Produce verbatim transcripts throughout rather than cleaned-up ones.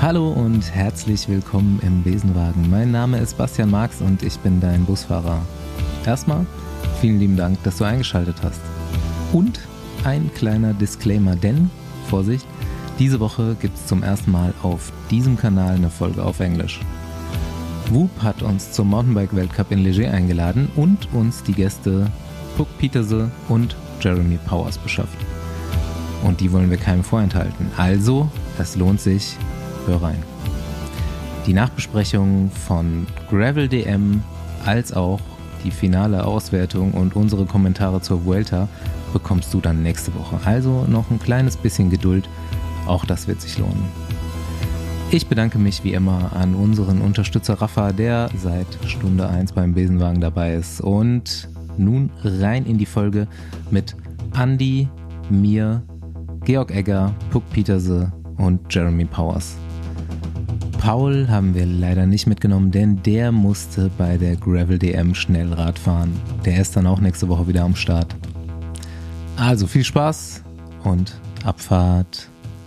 Hallo und herzlich willkommen im Besenwagen. Mein Name ist Bastian Marx und ich bin dein Busfahrer. Erstmal vielen lieben Dank, dass du eingeschaltet hast. Und ein kleiner Disclaimer, denn, Vorsicht, diese Woche gibt es zum ersten Mal auf diesem Kanal eine Folge auf Englisch. Whoop hat uns zum Mountainbike-Weltcup in Léger eingeladen und uns die Gäste Puk Pieterse und Jeremy Powers beschafft. Und die wollen wir keinem vorenthalten. Also, es lohnt sich, hör rein. Die Nachbesprechung von Gravel D M als auch die finale Auswertung und unsere Kommentare zur Vuelta bekommst du dann nächste Woche. Also noch ein kleines bisschen Geduld, auch das wird sich lohnen. Ich bedanke mich wie immer an unseren Unterstützer Rafa, der seit Stunde eins beim Besenwagen dabei ist. Und nun rein in die Folge mit Andi, mir, Georg Egger, Puk Pieterse und Jeremy Powers. Paul haben wir leider nicht mitgenommen, denn der musste bei der Gravel D M schnell Rad fahren. Der ist dann auch nächste Woche wieder am Start. Also viel Spaß und Abfahrt.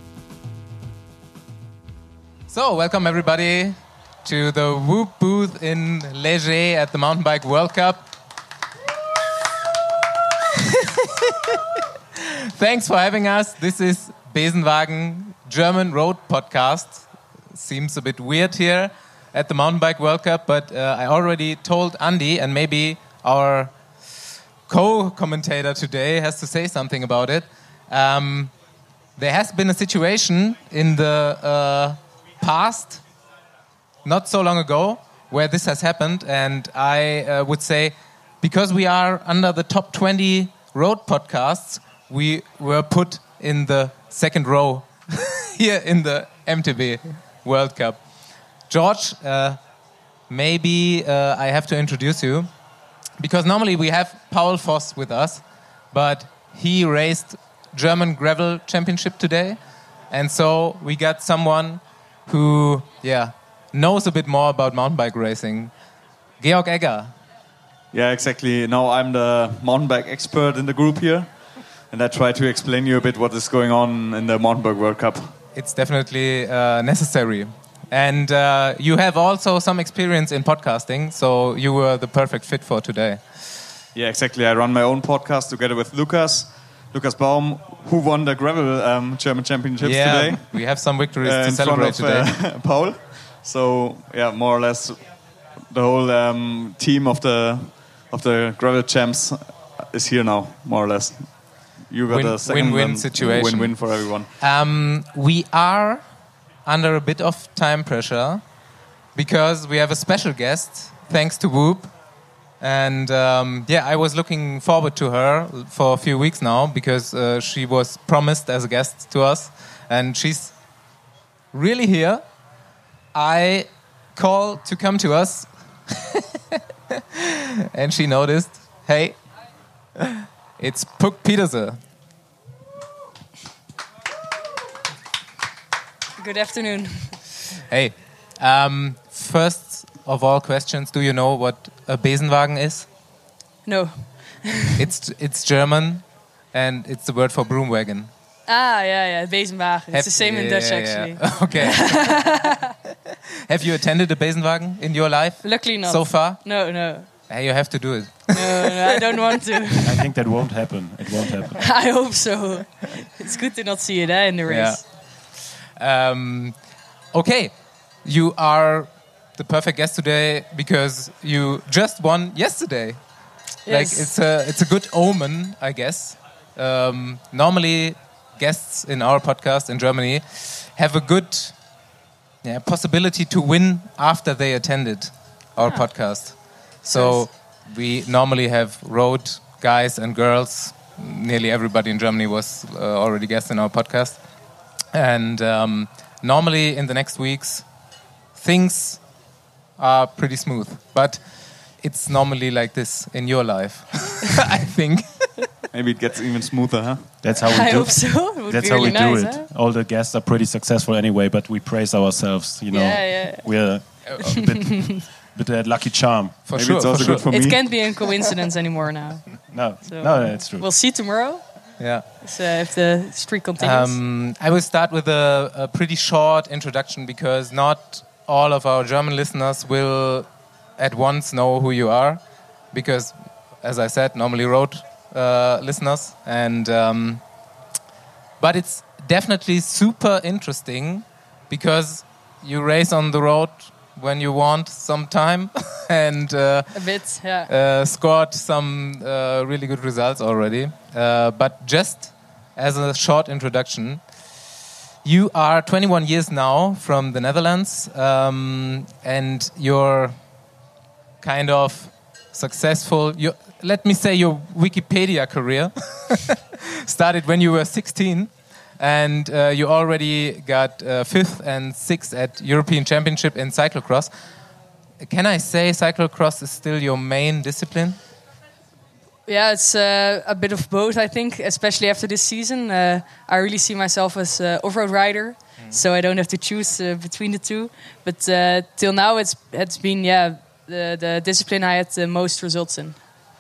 So, welcome everybody to the Whoop booth in Léger at the Mountain Bike World Cup. Thanks for having us. This is Besenwagen German Road Podcast. Seems a bit weird here at the Mountain Bike World Cup, but uh, I already told Andy, and maybe our co-commentator today has to say something about it. Um, there has been a situation in the uh, past, not so long ago, where this has happened, and I uh, would say, because we are under the top twenty road podcasts, we were put in the second row here in the M T B World Cup. George, uh, maybe uh, I have to introduce you, because normally we have Paul Voss with us, but he raced German Gravel Championship today, and so we got someone who, yeah, knows a bit more about mountain bike racing. Georg Egger. Yeah, exactly. Now I'm the mountain bike expert in the group here, and I try to explain you a bit what is going on in the Mountain Bike World Cup. It's definitely uh, necessary. And uh, you have also some experience in podcasting, so you were the perfect fit for today. Yeah, exactly. I run my own podcast together with Lukas, Lukas Baum, who won the Gravel um, German Championships yeah, today. We have some victories uh, to in celebrate front of, today. Uh, Paul. So, yeah, more or less the whole um, team of the of the Gravel Champs is here now, more or less. You got win, a second win-win situation. Win-win for everyone. Um, we are under a bit of time pressure because we have a special guest, thanks to Whoop. And um, yeah, I was looking forward to her for a few weeks now because uh, she was promised as a guest to us. And she's really here. I called to come to us. And she noticed, hey, it's Puk Pieterse. Good afternoon. Hey, um, first of all questions, do you know what a Besenwagen is? No. it's it's German, and it's the word for broom wagon. Ah, yeah, yeah, Besenwagen. It's Have, the same in yeah, Dutch, yeah, actually. Yeah. Okay. Have you attended a Besenwagen in your life? Luckily not. So far? No, no. Hey, you have to do it. No, no, I don't want to. I think that won't happen. It won't happen. I hope so. It's good to not see it eh, in the race. Yeah. Um, okay, you are the perfect guest today because you just won yesterday. Yes. Like it's a it's a good omen, I guess. Um, normally, guests in our podcast in Germany have a good yeah, possibility to win after they attended our Ah. podcast. So we normally have road guys and girls. Nearly everybody in Germany was uh, already guests in our podcast. And um, normally in the next weeks, things are pretty smooth. But it's normally like this in your life, I think. Maybe it gets even smoother, huh? That's how we I do hope so. It would That's be how really we do nice, it. Huh? All the guests are pretty successful anyway, but we praise ourselves. You know, Yeah, yeah. we're a bit, bit that lucky charm. For Maybe sure, it's for also sure. good for It me. can't be a coincidence anymore now. No, So no, it's true. We'll see tomorrow. Yeah. So if the streak continues. Um, I will start with a, a pretty short introduction because not all of our German listeners will at once know who you are. Because, as I said, normally road uh, listeners. And um, but it's definitely super interesting because you race on the road when you want some time and uh, a bit, yeah. uh, scored some uh, really good results already. Uh, but just as a short introduction, you are twenty-one years now from the Netherlands, um, and you're kind of successful. You, let me say your Wikipedia career started when you were sixteen. And uh, you already got uh, fifth and sixth at European Championship in cyclocross. Can I say cyclocross is still your main discipline? Yeah, it's uh, a bit of both, I think, especially after this season. Uh, I really see myself as an off-road rider, mm. so I don't have to choose uh, between the two. But uh, till now, it's it's been yeah the, the discipline I had the most results in.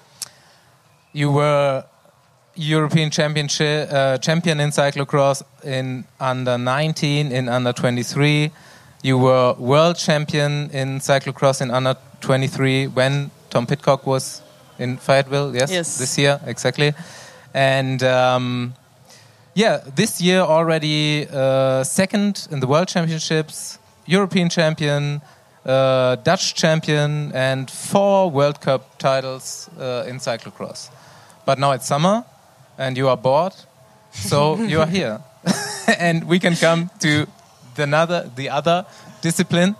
You were European Championship uh, champion in cyclocross in under nineteen, in under twenty-three. You were world champion in cyclocross in under twenty-three when Tom Pidcock was in Fayetteville. Yes, yes. This year exactly. And um, yeah, this year already uh, second in the World Championships, European champion, uh, Dutch champion, and four World Cup titles uh, in cyclocross. But now it's summer. And you are bored, so you are here, and we can come to the other the other discipline.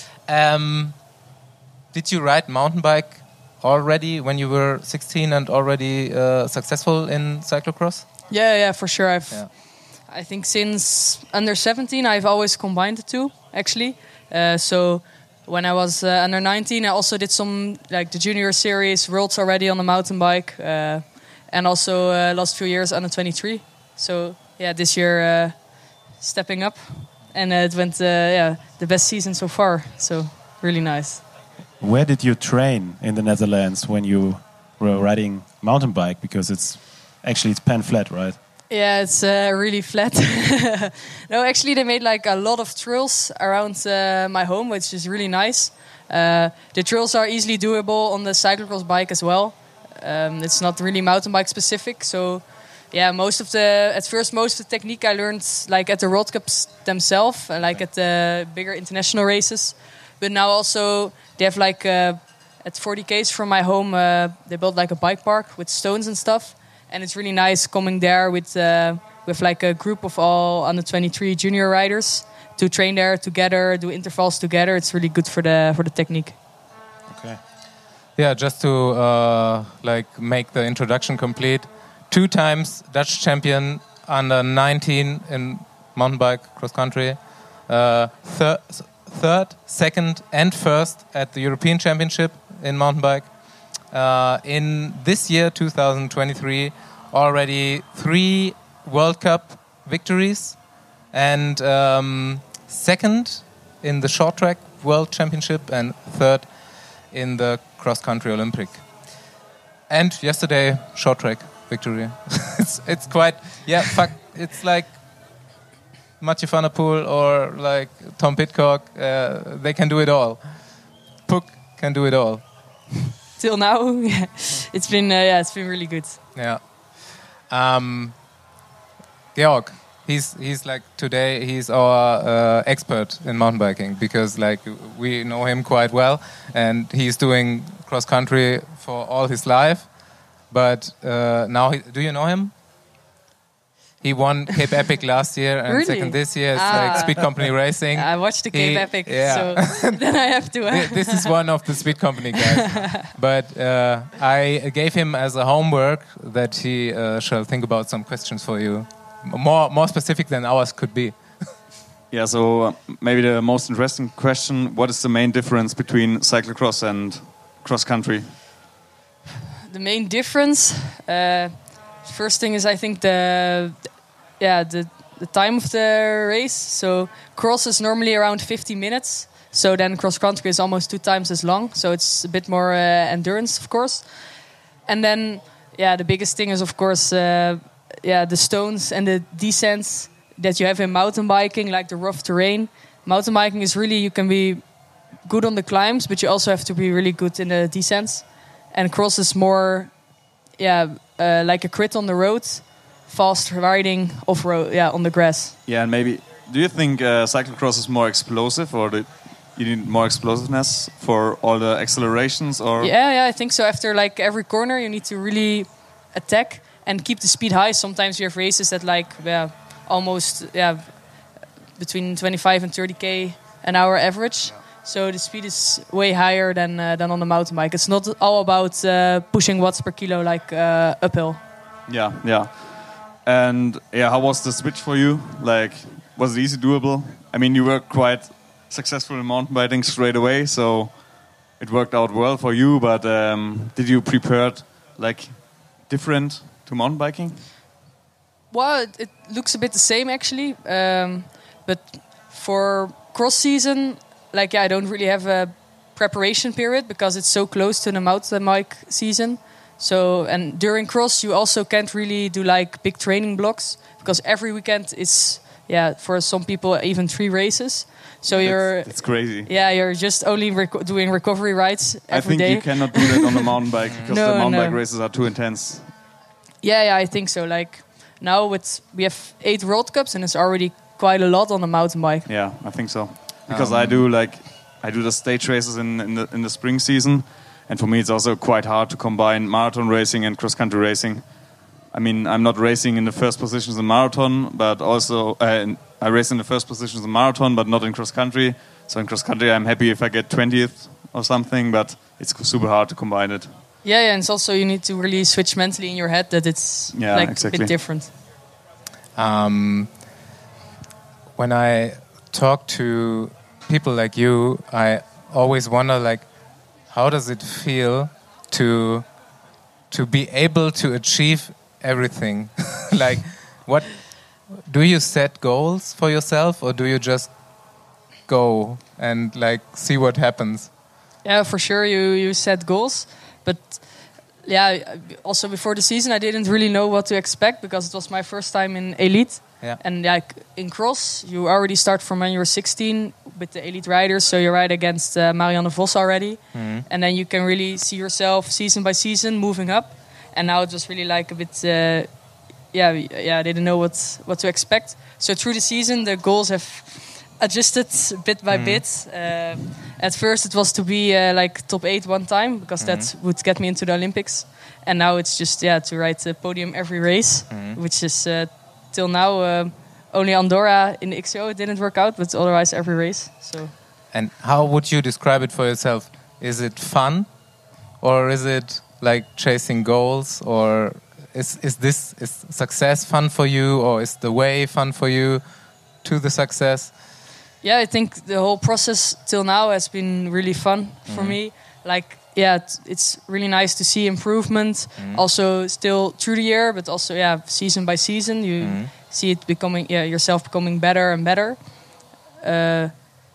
Um, did you ride mountain bike already when you were sixteen and already uh, successful in cyclocross? Yeah, yeah, for sure. I've, yeah. I think since under seventeen, I've always combined the two. Actually, uh, so when I was uh, under nineteen, I also did some like the junior series, worlds already on the mountain bike. Uh, And also uh, last few years under twenty-three. So yeah, this year uh, stepping up, and uh, it went uh, yeah the best season so far. So really nice. Where did you train in the Netherlands when you were riding mountain bike? Because it's actually it's pan flat, right? Yeah, it's uh, really flat. No, actually they made like a lot of trails around uh, my home, which is really nice. Uh, the trails are easily doable on the cyclocross bike as well. Um, it's not really mountain bike specific, so yeah. Most of the at first, most of the technique I learned like at the World Cups themselves, uh, like at the bigger international races. But now also they have like uh, at forty kays from my home, uh, they built like a bike park with stones and stuff, and it's really nice coming there with uh, with like a group of all under twenty-three junior riders to train there together, do intervals together. It's really good for the for the technique. Okay. Yeah, just to uh, like make the introduction complete. Two times Dutch champion under nineteen in mountain bike cross country. Uh, thir third, second, and first at the European Championship in mountain bike. Uh, in this year, two thousand twenty-three, already three World Cup victories, and um, second in the short track World Championship, and third in the cross-country Olympic. And yesterday, short track victory. it's it's quite, yeah, fuck, it's like Mathieu van der Poel or like Tom Pidcock. Uh, they can do it all. Puk can do it all. Till now, yeah. It's been, uh, yeah, it's been really good. Yeah. Um, Georg, he's he's like today he's our uh, expert in mountain biking because like we know him quite well, and he's doing cross country for all his life. But uh, now, he, do you know him? He won Cape Epic last year and really? second this year. It's ah. like Speed Company Racing. I watched the Cape he, Epic, yeah. so then I have to. Uh. This is one of the Speed Company guys. But uh, I gave him as a homework that he uh, shall think about some questions for you, more more specific than ours could be. Yeah, so uh, maybe the most interesting question: what is the main difference between cyclocross and cross country? The main difference, uh, first thing is I think the, yeah, the the time of the race. So cross is normally around fifty minutes. So then cross country is almost two times as long. So it's a bit more uh, endurance, of course. And then, yeah, the biggest thing is of course uh, yeah, the stones and the descents that you have in mountain biking, like the rough terrain. Mountain biking is really, you can be good on the climbs, but you also have to be really good in the descents. And cross is more, yeah, uh, like a crit on the road, fast riding off road, yeah, on the grass. Yeah, and maybe, do you think uh, cyclocross is more explosive, or do you need more explosiveness for all the accelerations? Or yeah, yeah, I think so. After like every corner, you need to really attack and keep the speed high. Sometimes you have races that like, yeah, almost, yeah, between twenty-five and thirty k an hour average. Yeah. So the speed is way higher than uh, than on the mountain bike. It's not all about uh, pushing watts per kilo like uh, uphill. Yeah, yeah. And yeah, how was the switch for you? Like, was it easy doable? I mean, you were quite successful in mountain biking straight away, so it worked out well for you. But um, did you prepare like different to mountain biking? Well, it, it looks a bit the same actually, um, but for cross season, like yeah, I don't really have a preparation period because it's so close to the mountain bike season. So and during cross, you also can't really do like big training blocks because every weekend is yeah for some people even three races. So that's, you're it's crazy. Yeah, you're just only reco- doing recovery rides every I think day. You cannot do that on the mountain bike because no, the mountain no. bike races are too intense. Yeah, yeah, I think so. Like now with we have eight World Cups and it's already quite a lot on the mountain bike. Yeah, I think so. Because Um, I do like I do the stage races in, in the in the spring season, and for me it's also quite hard to combine marathon racing and cross country racing. I mean, I'm not racing in the first positions in marathon, but also uh, in, I race in the first positions in marathon, but not in cross country. So in cross country, I'm happy if I get twentieth or something, but it's super hard to combine it. Yeah, yeah, and it's also you need to really switch mentally in your head that it's Yeah, like exactly. a bit different. Um, when I talk to people like you, I always wonder, like, how does it feel to to be able to achieve everything? Like, what do you set goals for yourself, or do you just go and like see what happens? Yeah, for sure you you set goals, but yeah, also before the season I didn't really know what to expect because it was my first time in elite. Yeah. And like in cross, you already start from when you're sixteen with the elite riders, so you ride against uh, Marianne Vos already, Mm-hmm. and then you can really see yourself season by season moving up. And now it was really like a bit, uh, yeah, yeah, I didn't know what what to expect. So through the season, the goals have adjusted bit by Mm. bit. Uh, at first, it was to be uh, like top eight one time because Mm-hmm. that would get me into the Olympics. And now it's just yeah to ride the podium every race, Mm-hmm. which is uh, till now uh, only Andorra in the X C O it didn't work out, but otherwise every race. So And how would you describe it for yourself? Is it fun, or is it like chasing goals, or is is this is success fun for you, or is the way fun for you to the success? yeah, I think the whole process till now has been really fun for me. Like, yeah, it's, it's really nice to see improvement. Also, still through the year, but also, yeah, season by season, you see it becoming, yeah, yourself becoming better and better. Uh,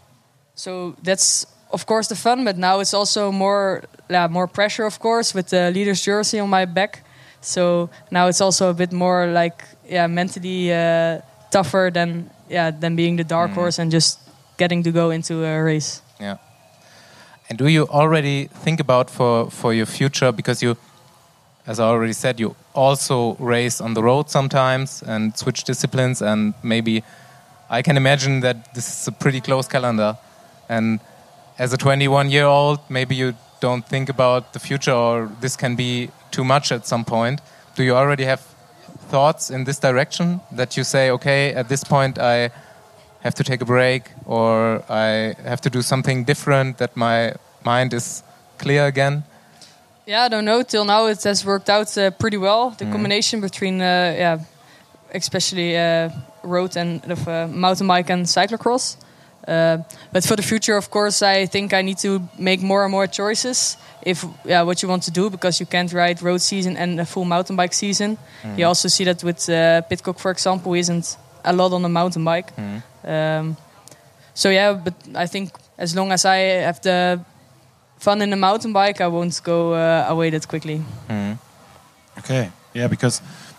so that's of course the fun, but now it's also more, yeah, more pressure, of course, with the leader's jersey on my back. So now it's also a bit more like, yeah, mentally uh, tougher than, yeah, than being the dark horse and just getting to go into a race. Yeah. And do you already think about for, for your future? Because you, as I already said, you also race on the road sometimes and switch disciplines. And maybe I can imagine that this is a pretty close calendar. And as a twenty-one-year-old, maybe you don't think about the future, or this can be too much at some point. Do you already have thoughts in this direction that you say, okay, at this point I have to take a break, or I have to do something different, that my mind is clear again? Yeah, I don't know. Till now, it has worked out uh, pretty well. The combination between, uh, yeah, especially uh, road and uh, mountain bike and cyclocross. Uh, but for the future, of course, I think I need to make more and more choices. If yeah, what you want to do, because you can't ride road season and a full mountain bike season. You also see that with uh, Pidcock, for example, who isn't a lot on the mountain bike. Um, so yeah, but I think as long as I have the fun in the mountain bike, I won't go uh, away that quickly. Okay, yeah, because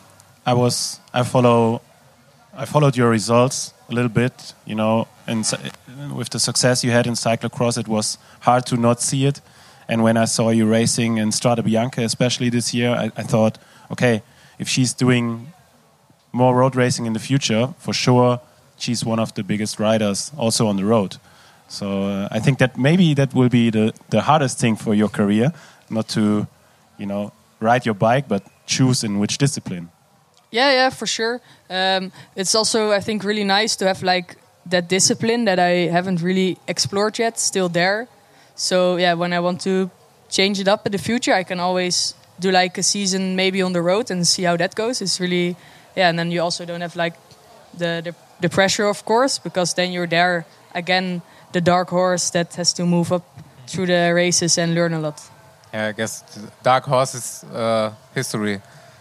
I was I follow I followed your results a little bit, you know, and cy- with the success you had in cyclocross, it was hard to not see it. And when I saw you racing in Strade Bianche, especially this year, I, I thought, okay, if she's doing more road racing in the future, for sure, she's one of the biggest riders also on the road. So uh, I think that maybe that will be the, the hardest thing for your career, not to, you know, ride your bike, but choose in which discipline. Yeah, yeah, for sure. Um, it's also, I think, really nice to have like that discipline that I haven't really explored yet, still there. So yeah, when I want to change it up in the future, I can always do like a season maybe on the road and see how that goes. It's really, yeah, and then you also don't have like the the, the pressure, of course, because then you're there again, the dark horse that has to move up through the races and learn a lot. Yeah, I guess the dark horse is uh, history.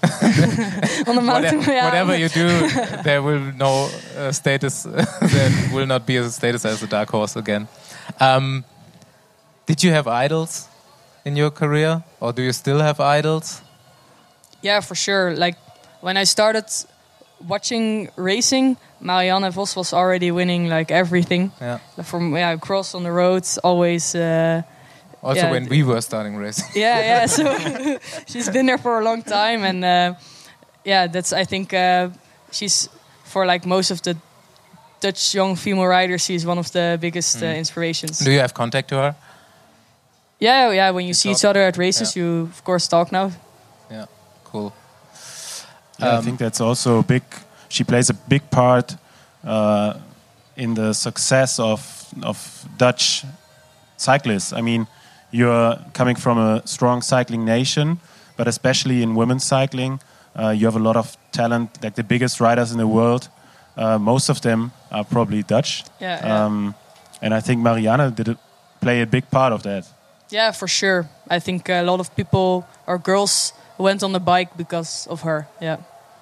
On the mountain, whatever, yeah. whatever you do, there will no uh, status. There will not be a status as a dark horse again. Um, did you have idols in your career, or do you still have idols? Yeah, for sure. Like when I started watching racing, Marianne Vos was already winning like everything. Yeah. From yeah, cross on the roads, always. Uh, Also, yeah, when we were starting racing. Yeah, yeah. So she's been there for a long time, and uh, yeah, that's I think uh, she's for like most of the Dutch young female riders. She's one of the biggest Mm. uh, inspirations. Do you have contact to her? Yeah, yeah. When you see talk? each other at races, Yeah. you of course talk now. Yeah, cool. Yeah, I Um, think that's also a big. She plays a big part uh, in the success of of Dutch cyclists. I mean, you're coming from a strong cycling nation, but especially in women's cycling, uh, you have a lot of talent. Like the biggest riders in the world, uh, most of them are probably Dutch. Yeah, yeah. Um, and I think Marianne did a, play a big part of that. Yeah, for sure. I think a lot of people or girls went on the bike because of her. Yeah.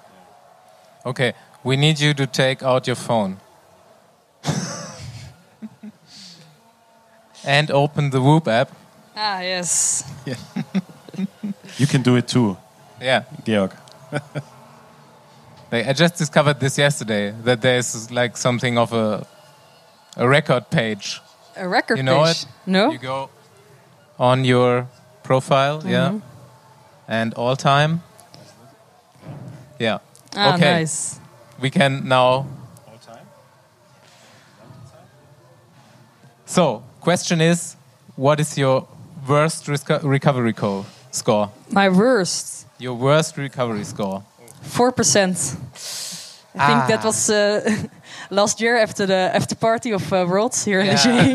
Okay, we need you to take out your phone. And open the Whoop app. Ah, yes. You can do it too, Yeah. Georg. Like, I just discovered this yesterday, that there's like something of a a record page. A record You know page. it? No? You go on your profile, yeah, and all time. Yeah. Ah, okay. nice. We can now. So, question is, what is your worst risco- recovery co- score? My worst. Your worst recovery score? Four percent. I Ah. think that was uh, last year after the after party of uh, Worlds here in Yeah. the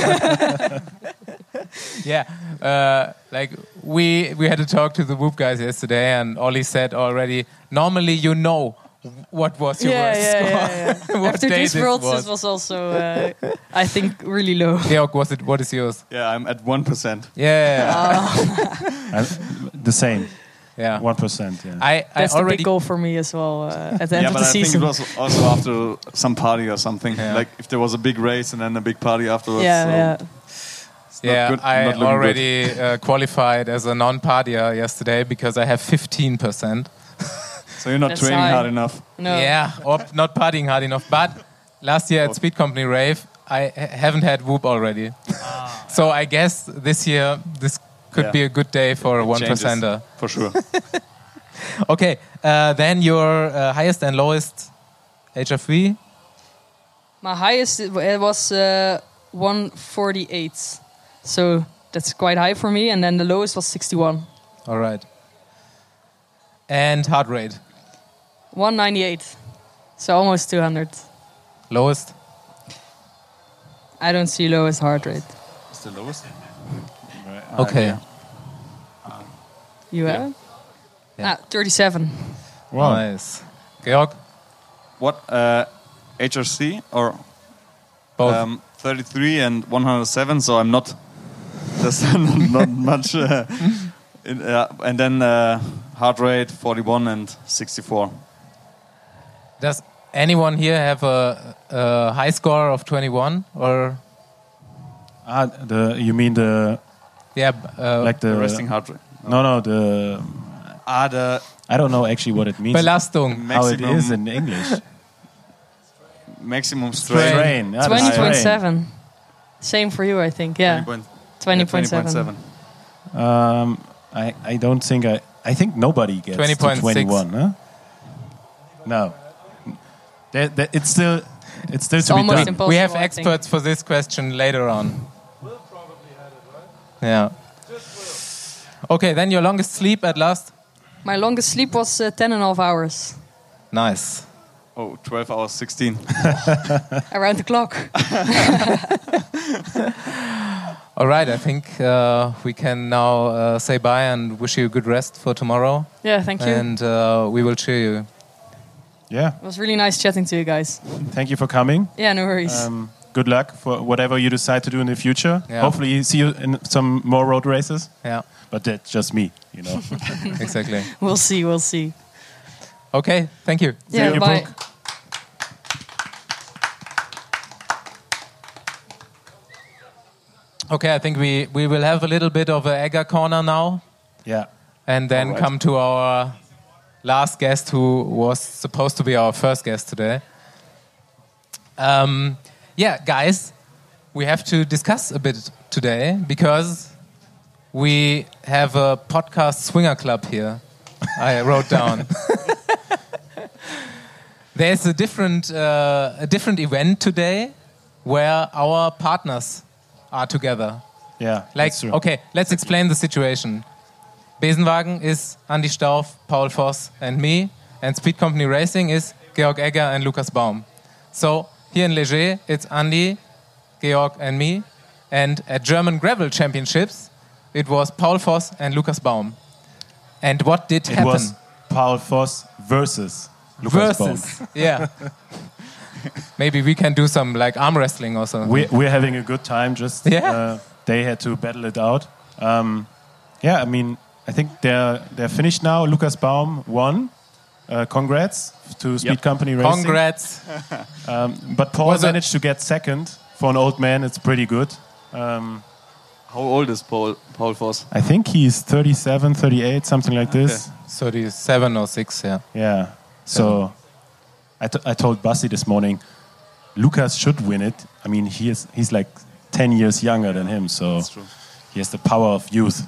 Yeah, uh, like we we had to talk to the Whoop guys yesterday, and Ollie said already. Normally, you know what was your yeah, worst yeah, score. yeah, yeah. What After day these this Worlds, was. this was also, uh, I think, really low. Georg, was it? What is yours? Yeah, I'm at one percent. Yeah, I'm the same, yeah. one percent. Yeah. I, I That's the already big goal for me as well uh, at the end Yeah, of but the I think season. it was also after some party or something. Yeah. Like if there was a big race and then a big party afterwards. yeah, so yeah. it's not Yeah, good, I not looking already uh, qualified as a non-partier yesterday because I have fifteen percent. good. So you're not That's training high. hard enough. No. Yeah, or not partying hard enough. But last year at Speed Company Rave, I ha- haven't had Whoop already. So I guess this year this could Yeah. be a good day for a It one changes, percenter. for sure. Okay, uh, then your uh, highest and lowest H F V? My highest it wa- it was uh, one forty-eight. So that's quite high for me. And then the lowest was sixty-one. All right. And heart rate? one ninety-eight. So almost two hundred. Lowest? I don't see lowest heart rate. It's the lowest. Okay. You Yeah. have? Yeah. Ah, thirty-seven. Wow. Nice. Georg? What uh, H R C or Both. um, thirty-three and one hundred seven? So I'm not. There's not, not much. Uh, in, uh, and then uh, heart rate forty-one and sixty-four. Does anyone here have a, a high score of twenty-one? Or, Ah, the you mean the yeah, uh, like the The resting heart rate. No, no, the Ah, the I don't know actually what it means. Belastung. How it maximum- is in English. maximum strain. Strain. Yeah, the twenty point strain. seven. Same for you, I think. Yeah. twenty point seven. Um, I, I don't think I... I think nobody gets twenty point to six. twenty-one, huh? No. That, that, it's still, it's still It's to be almost done. impossible. We have I think. experts for this question later on. Yeah. Okay, then your longest sleep at last? My longest sleep was uh, ten and a half hours. Nice. Oh, twelve hours, sixteen. Around the clock. All right, I think uh, we can now uh, say bye and wish you good rest for tomorrow. Yeah, thank you. And uh, we will cheer you. Yeah. It was really nice chatting to you guys. Thank you for coming. Yeah, no worries. Um, good luck for whatever you decide to do in the future. Yeah. Hopefully see you in some more road races. Yeah, But that's just me, you know. exactly. We'll see, we'll see. Okay, thank you. Yeah, you, bye. Brooke. Okay, I think we, we will have a little bit of a Egger corner now. Yeah. And then All right. come to our last guest, who was supposed to be our first guest today. Um, yeah, guys, we have to discuss a bit today because we have a podcast swinger club here. I wrote down. There's a different uh, a different event today where our partners are together. Yeah. Like, that's true. okay, let's explain the situation. Besenwagen is Andy Stauf, Paul Voss, and me, and Speed Company Racing is Georg Egger and Lukas Baum. So here in Léger, it's Andy, Georg, and me, and at German Gravel Championships, it was Paul Voss and Lukas Baum. And what did It happen? was Paul Voss versus Lukas Baum. Versus, yeah. Maybe we can do some like arm wrestling or something. We're, we're having a good time. Just Yeah. uh, they had to battle it out. Um, yeah, I mean, I think they're they're finished now. Lukas Baum won. Uh, congrats to Speed Yep. Company Racing. Congrats. Um, but Paul Was it- managed to get second. For an old man, it's pretty good. Um, How old is Paul, Paul Voss? I think he's thirty-seven, thirty-eight, something like this. thirty-seven or six, yeah. Yeah. So I, t- I told Basti this morning, Lukas should win it. I mean, he is he's like ten years younger than him, so That's true. he has the power of youth.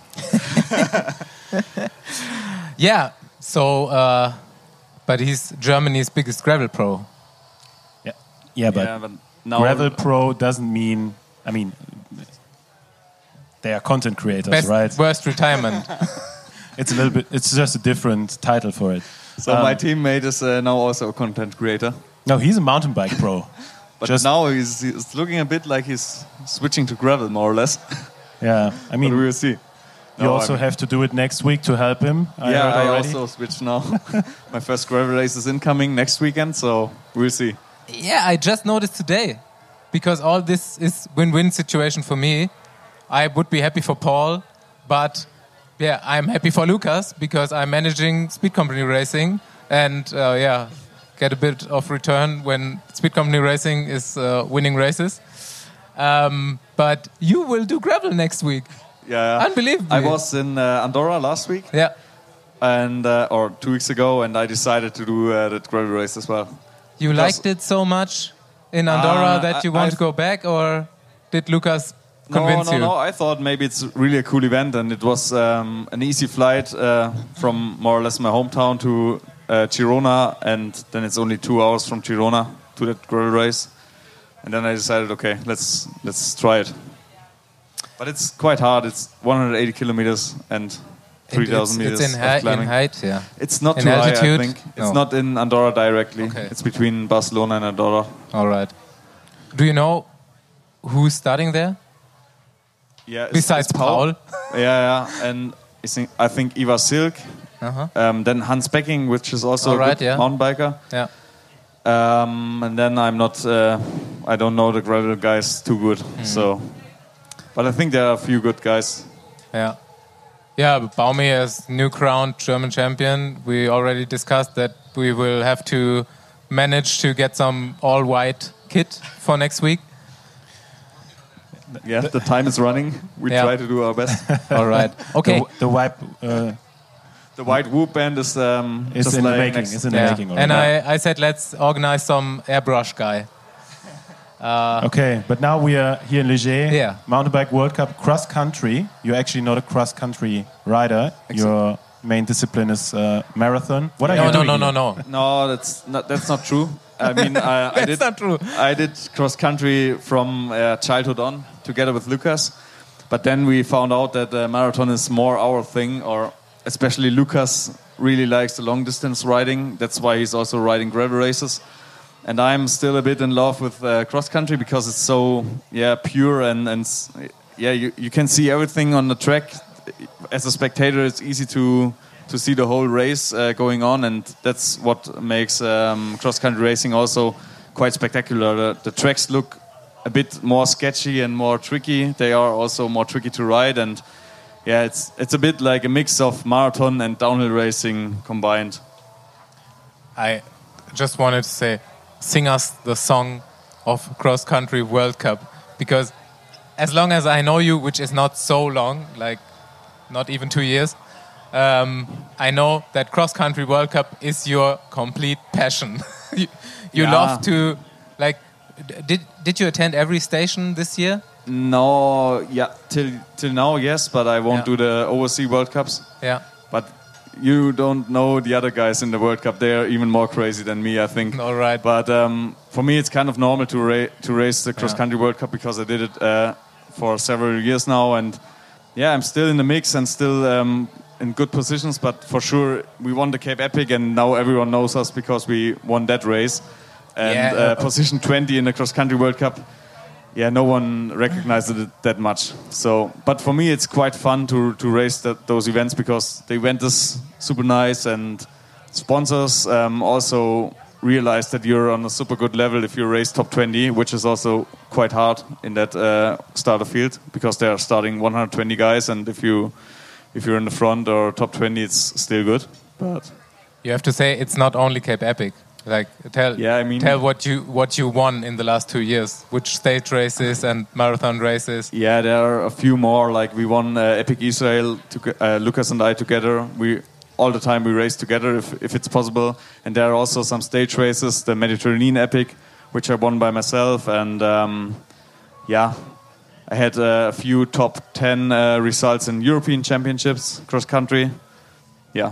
Yeah, so, uh, but he's Germany's biggest gravel pro. Yeah, yeah, but yeah, but now Gravel Pro doesn't mean. I mean, they are content creators, Best, right? worst retirement. It's a little bit. It's just a different title for it. So Um, my teammate is uh, now also a content creator. No, he's a mountain bike pro. But Just- now he's, he's looking a bit like he's switching to gravel, more or less. Yeah, I But mean, we'll see. you No, also I mean- have to do it next week to help him. I yeah, heard I already. also switched now. My first gravel race is incoming next weekend, so we'll see. Yeah, I just noticed today, because all this is win-win situation for me. I would be happy for Paul, but yeah, I'm happy for Lukas because I'm managing Speed Company Racing, and uh, yeah, get a bit of return when Speed Company Racing is uh, winning races. Um, but you will do gravel next week. Yeah, Unbelievable. I was in uh, Andorra last week, Yeah. and uh, or two weeks ago, and I decided to do uh, that gravel race as well. You Because- liked it so much in Andorra Uh, that you I- want I've- to go back, or did Lukas convince no, no, you? no. I thought maybe it's really a cool event, and it was um, an easy flight uh, from more or less my hometown to uh, Girona, and then it's only two hours from Girona to that gravel race. And then I decided, okay, let's let's try it. But it's quite hard. It's one hundred eighty kilometers and three thousand It's- meters It's in, of hei- in climbing. height, yeah. It's not In too high, altitude? I think. It's No. not in Andorra directly. Okay. It's between Barcelona and Andorra. All right. Do you know who's starting there Yeah. it's- besides it's Paul? Yeah, yeah. And I think, I think Ivar Silk. Uh-huh. Um, then Hans Becking, which is also All a right, good yeah. mountain biker. Yeah. Um, and then I'm not, uh, I don't know the gravel guys too good. Hmm. So, but I think there are a few good guys. Yeah. Yeah, but Baumi as new crowned German champion. We already discussed that we will have to manage to get some all white kit for next week. Yeah, the time is running. We Yeah. try to do our best. All right. Okay. The, the wipe, uh, the white whoop band is um, It's just in the laying making. next- It's in the Yeah. making. And already. I, I said, let's organize some airbrush guy. Okay, but now we are here in Ligier, Yeah. Mountain Bike World Cup cross country. You're actually not a cross country rider. Your main discipline is uh, marathon. What are No, you no, doing? no, no, here? no. No, that's not that's not true. I mean, I, I That's did not true. I did cross country from uh, childhood on, together with Lucas. But then we found out that uh, marathon is more our thing, or especially Lucas really likes the long distance riding. That's why he's also riding gravel races. And I'm still a bit in love with uh, cross country because it's so yeah pure and and s- yeah you, you can see everything on the track. As a spectator, it's easy to to see the whole race uh, going on, and that's what makes um, cross country racing also quite spectacular. The, the tracks look a bit more sketchy and more tricky. They are also more tricky to ride, and yeah, it's it's a bit like a mix of marathon and downhill racing combined. I just wanted to say, sing us the song of Cross Country World Cup, because as long as I know you, which is not so long, like not even two years, um, I know that Cross Country World Cup is your complete passion. you you Yeah. love to, like, d- did did you attend every station this year? No, yeah, till till now, yes, but I won't Yeah. do the overseas World Cups. Yeah. But you don't know the other guys in the World Cup. They are even more crazy than me, I think. All right. But um, for me, it's kind of normal to ra- to race the cross country World Cup because I did it uh, for several years now, and yeah, I'm still in the mix and still um, in good positions. But for sure, we won the Cape Epic, and now everyone knows us because we won that race. And Yeah. uh, position twenty in the cross country World Cup. Yeah, no one recognized it that much. So, but for me, it's quite fun to to race that, those events because the event is super nice, and sponsors um, also realize that you're on a super good level if you race top twenty, which is also quite hard in that uh, starter field because they are starting one hundred twenty guys, and if you if you're in the front or top twenty, it's still good. But You have to say it's not only Cape Epic. Like tell Yeah, I mean- tell what you what you won in the last two years, which stage races and marathon races. yeah, there are a few more. Like we won uh, Epic Israel, to, uh, Lucas and I together. We all the time we race together if if it's possible. And there are also some stage races, the Mediterranean Epic, which I won by myself. And um, yeah, I had uh, a few top ten uh, results in European Championships cross country. Yeah,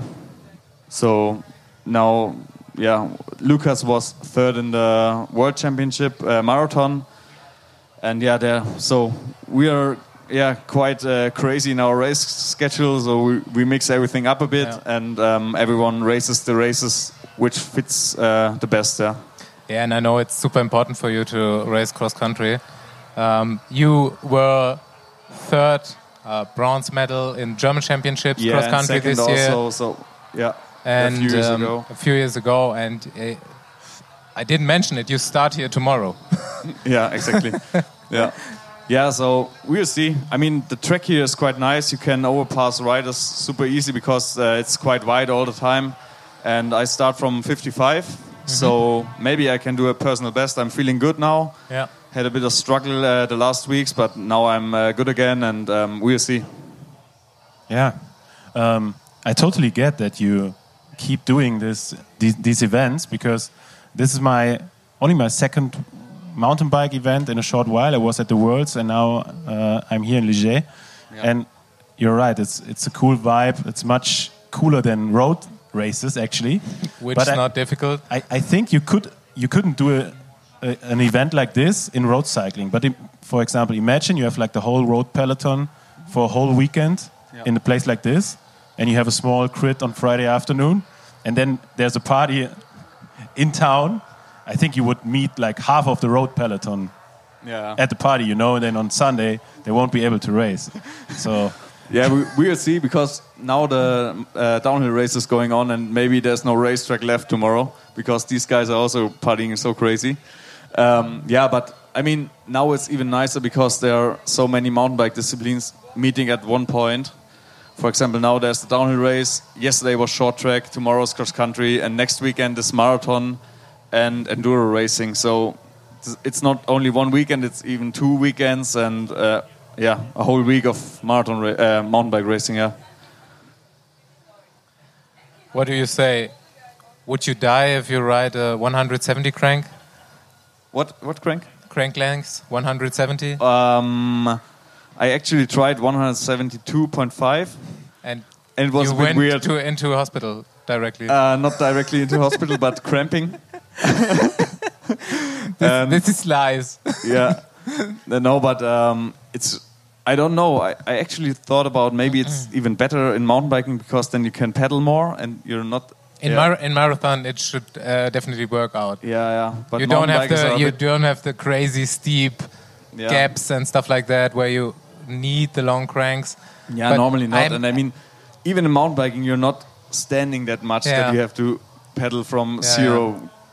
so now. Yeah, Lucas was third in the World Championship uh, marathon, and yeah, there. So we are yeah quite uh, crazy in our race schedule. So we, we mix everything up a bit, Yeah. and um, everyone races the races which fits uh, the best. Yeah. Yeah, and I know it's super important for you to race cross country. Um, you were third uh, bronze medal in German Championships Yeah, cross and country second this year, also. So yeah, and a few years um, ago. a few years ago, and uh, I didn't mention it. You start here tomorrow. Yeah, exactly. yeah. Yeah, so we'll see. I mean, the track here is quite nice. You can overpass riders super easy because uh, it's quite wide all the time. And I start from fifty-five, so maybe I can do a personal best. I'm feeling good now. Yeah. Had a bit of struggle uh, the last weeks, but now I'm uh, good again, and um, we'll see. Yeah, um, I totally get that you keep doing this these, these events because this is my only my second mountain bike event in a short while. I was at the Worlds, and now uh, I'm here in Ligier. And you're right; it's it's a cool vibe. It's much cooler than road races, actually. Which But is I- not difficult. I, I think you could you couldn't do a, a, an event like this in road cycling. But im- for example, imagine you have like the whole road peloton for a whole weekend in a place like this, and you have a small crit on Friday afternoon, and then there's a party in town. I think you would meet like half of the road peloton Yeah. at the party, you know, and then on Sunday they won't be able to race. So Yeah, we, we'll see because now the uh, downhill race is going on, and maybe there's no racetrack left tomorrow because these guys are also partying so crazy. Um, yeah, but I mean, now it's even nicer because there are so many mountain bike disciplines meeting at one point. For example, now there's the downhill race. Yesterday was short track. Tomorrow's cross country, and next weekend is marathon and enduro racing. So it's not only one weekend; it's even two weekends, and uh, yeah, a whole week of marathon ra- uh, mountain bike racing. Yeah. what do you say? Would you die if you ride a one hundred seventy crank? What what crank? Crank lengths, one hundred seventy? Um, I actually tried one seventy-two point five. And, and it was you a bit went weird. To, into hospital directly? Uh, not directly into hospital, but cramping. this, um, this is lies. Yeah. No, but um, it's... I don't know. I, I actually thought about maybe it's even better in mountain biking because then you can pedal more and you're not... In, yeah. mar in marathon, it should uh, definitely work out. Yeah, yeah. But you don't have the you bit... don't have the crazy steep yeah. gaps and stuff like that where you need the long cranks. Yeah, but normally not. I'm, and I mean, even in mountain biking, you're not standing that much yeah. that you have to pedal from yeah, zero.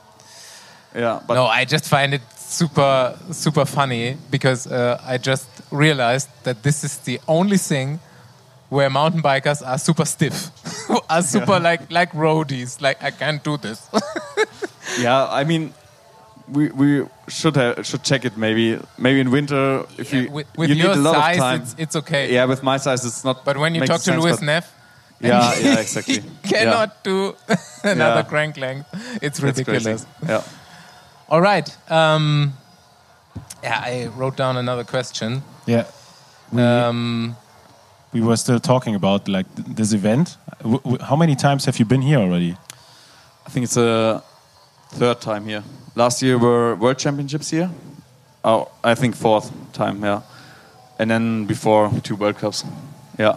Yeah. yeah, but no, I just find it super super funny because uh, I just realized that this is the only thing where mountain bikers are super stiff, are super yeah. like like roadies. Like I can't do this. yeah, I mean, we we should have, should check it maybe maybe in winter if yeah, you with, with you your need a lot size, of time. It's, it's okay. Yeah, with my size, it's not. But when you talk to sense, Louis Neff, yeah, yeah, exactly, he cannot yeah. do another yeah. crank length. It's That's ridiculous. crazy. Yeah. All right. Um, yeah, I wrote down another question. Yeah. We, um, we were still talking about like th this event. W w how many times have you been here already? I think it's a third time here. Last year were World Championships here. Oh, I think fourth time, yeah. And then before two World Cups, yeah.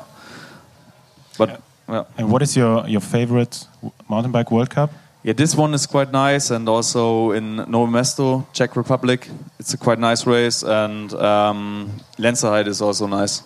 But yeah. yeah. And what is your your favorite mountain bike World Cup? Yeah, this one is quite nice, and also in Novo Mesto, Czech Republic, it's a quite nice race, and um, Lenzerheide is also nice.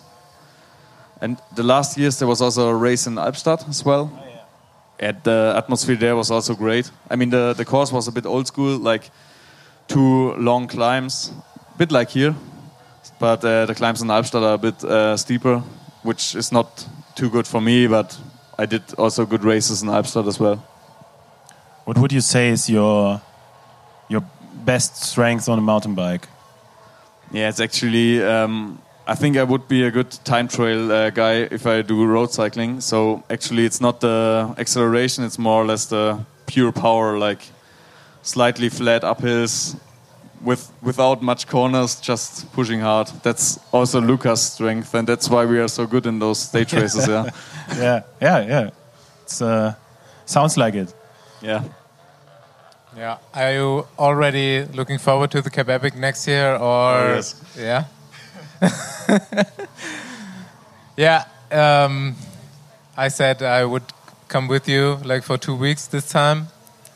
And the last years there was also a race in Albstadt as well. Oh, yeah. And the atmosphere there was also great. I mean, the the course was a bit old school, like two long climbs, a bit like here, but uh, the climbs in Albstadt are a bit uh, steeper, which is not too good for me. But I did also good races in Albstadt as well. What would you say is your your best strength on a mountain bike? Yeah, it's actually. Um, I think I would be a good time trail uh, guy if I do road cycling. So actually, it's not the acceleration; it's more or less the pure power, like slightly flat uphills with without much corners, just pushing hard. That's also Luca's strength, and that's why we are so good in those stage races. Yeah, yeah, yeah, yeah. It's uh, sounds like it. Yeah. Yeah. Are you already looking forward to the Cape Epic next year, or oh, yes. yeah? yeah. Um, I said I would come with you like for two weeks this time.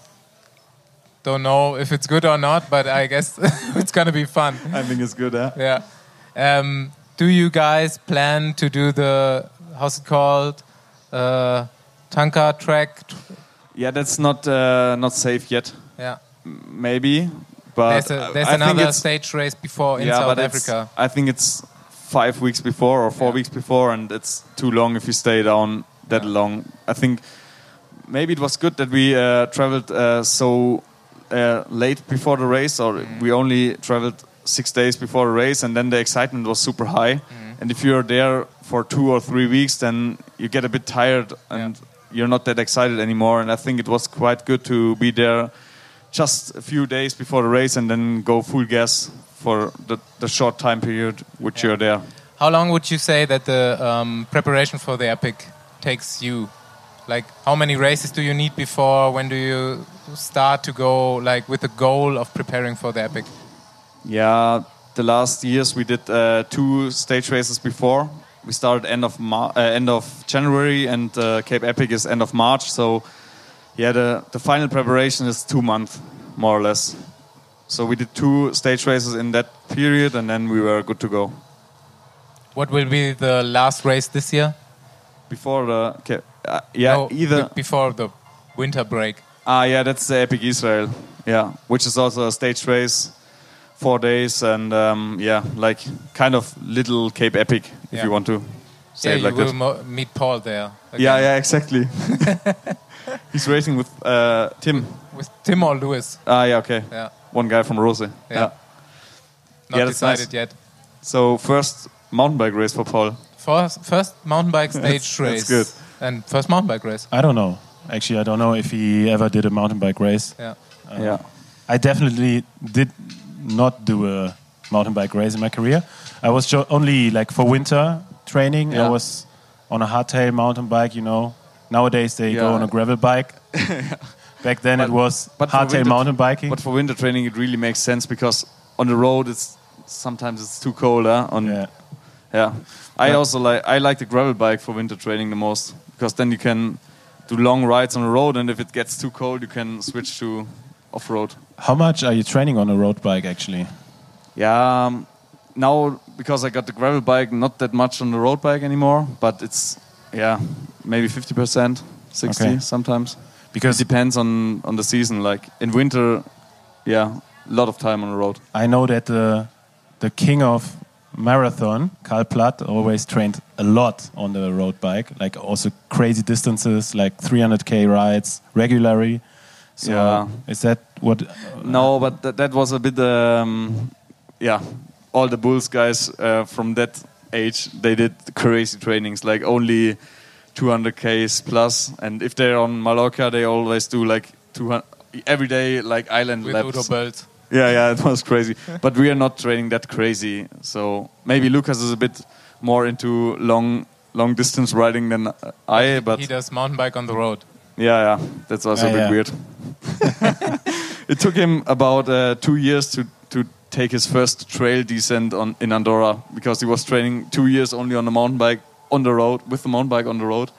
Don't know if it's good or not, but I guess it's gonna be fun. I think it's good, huh? Yeah. Um, do you guys plan to do the how's it called? Uh, Tanka track? Yeah, that's not uh, not safe yet. Yeah, maybe, but there's, a, there's I another stage race before in yeah, South but Africa. I think it's five weeks before or four yeah. weeks before, and it's too long if you stay down that yeah. long. I think maybe it was good that we uh, traveled uh, so uh, late before the race, or mm. we only traveled six days before the race, and then the excitement was super high. Mm. And if you're there for two or three weeks, then you get a bit tired and. Yeah. You're not that excited anymore, and I think it was quite good to be there just a few days before the race and then go full gas for the, the short time period which yeah. you're there. How long would you say that the um, preparation for the Epic takes you? Like, how many races do you need before? When do you start to go, like, with the goal of preparing for the Epic? Yeah, the last years we did uh, two stage races before. We started end of Mar uh, end of January, and uh, Cape Epic is end of March. So, yeah, the the final preparation is two months, more or less. So we did two stage races in that period, and then we were good to go. What will be the last race this year? Before the uh, yeah, no, either before the winter break. Ah, yeah, that's the Epic Israel. Yeah, which is also a stage race. Four days and um, yeah, like kind of little Cape Epic, if yeah. you want to say yeah, it like you will that. Mo meet Paul there. Again. Yeah, yeah, exactly. He's racing with uh, Tim. With Tim or Louis? Ah, yeah, okay. Yeah. One guy from Rose. Yeah. yeah. Not yeah, decided nice. yet. So first mountain bike race for Paul. First, first mountain bike stage that's, race. That's good. And first mountain bike race. I don't know. Actually, I don't know if he ever did a mountain bike race. Yeah. Uh, yeah. I definitely did not do a mountain bike race in my career. I was jo- only like for winter training. Yeah. I was on a hardtail mountain bike, you know. Nowadays they Yeah. go on a gravel bike. Back then But- it was but for hardtail winter- mountain biking. But for winter training, it really makes sense because on the road, it's sometimes it's too cold. Huh? On yeah. yeah. I Yeah. also like I like the gravel bike for winter training the most because then you can do long rides on the road, and if it gets too cold, you can switch to off road. How much are you training on a road bike actually? Yeah. Um, now because I got the gravel bike, not that much on the road bike anymore, but it's yeah maybe fifty percent, sixty Okay. sometimes. Because It depends on, on the season. Like in winter, yeah, a lot of time on the road. I know that the the king of marathon, Karl Platt, always trained a lot on the road bike, like also crazy distances, like three hundred K rides regularly. So Yeah. is that what? No, but that, that was a bit, um, yeah, all the Bulls guys uh, from that age, they did crazy trainings, like only two hundred Ks plus. And if they're on Mallorca, they always do like two hundred, every day, like island With laps. Udo Bölt. Yeah, yeah, it was crazy. But we are not training that crazy. So maybe Lucas is a bit more into long long distance riding than I, but He does mountain bike on the road. yeah, yeah, that's also Yeah, a bit yeah. weird. It took him about uh, two years to, to take his first trail descent on in Andorra because he was training two years only on the mountain bike on the road, with the mountain bike on the road.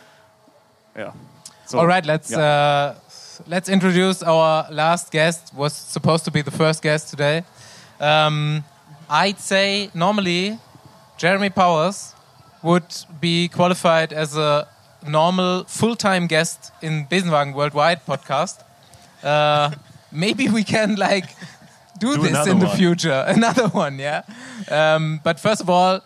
Yeah. So, All right, let's yeah. uh, let's introduce our last guest. Was supposed to be the first guest today. Um, I'd say normally Jeremy Powers would be qualified as a normal full-time guest in Besenwagen Worldwide podcast. Uh, maybe we can like do, Do this another in the one. future. Another one, yeah. Um, but first of all,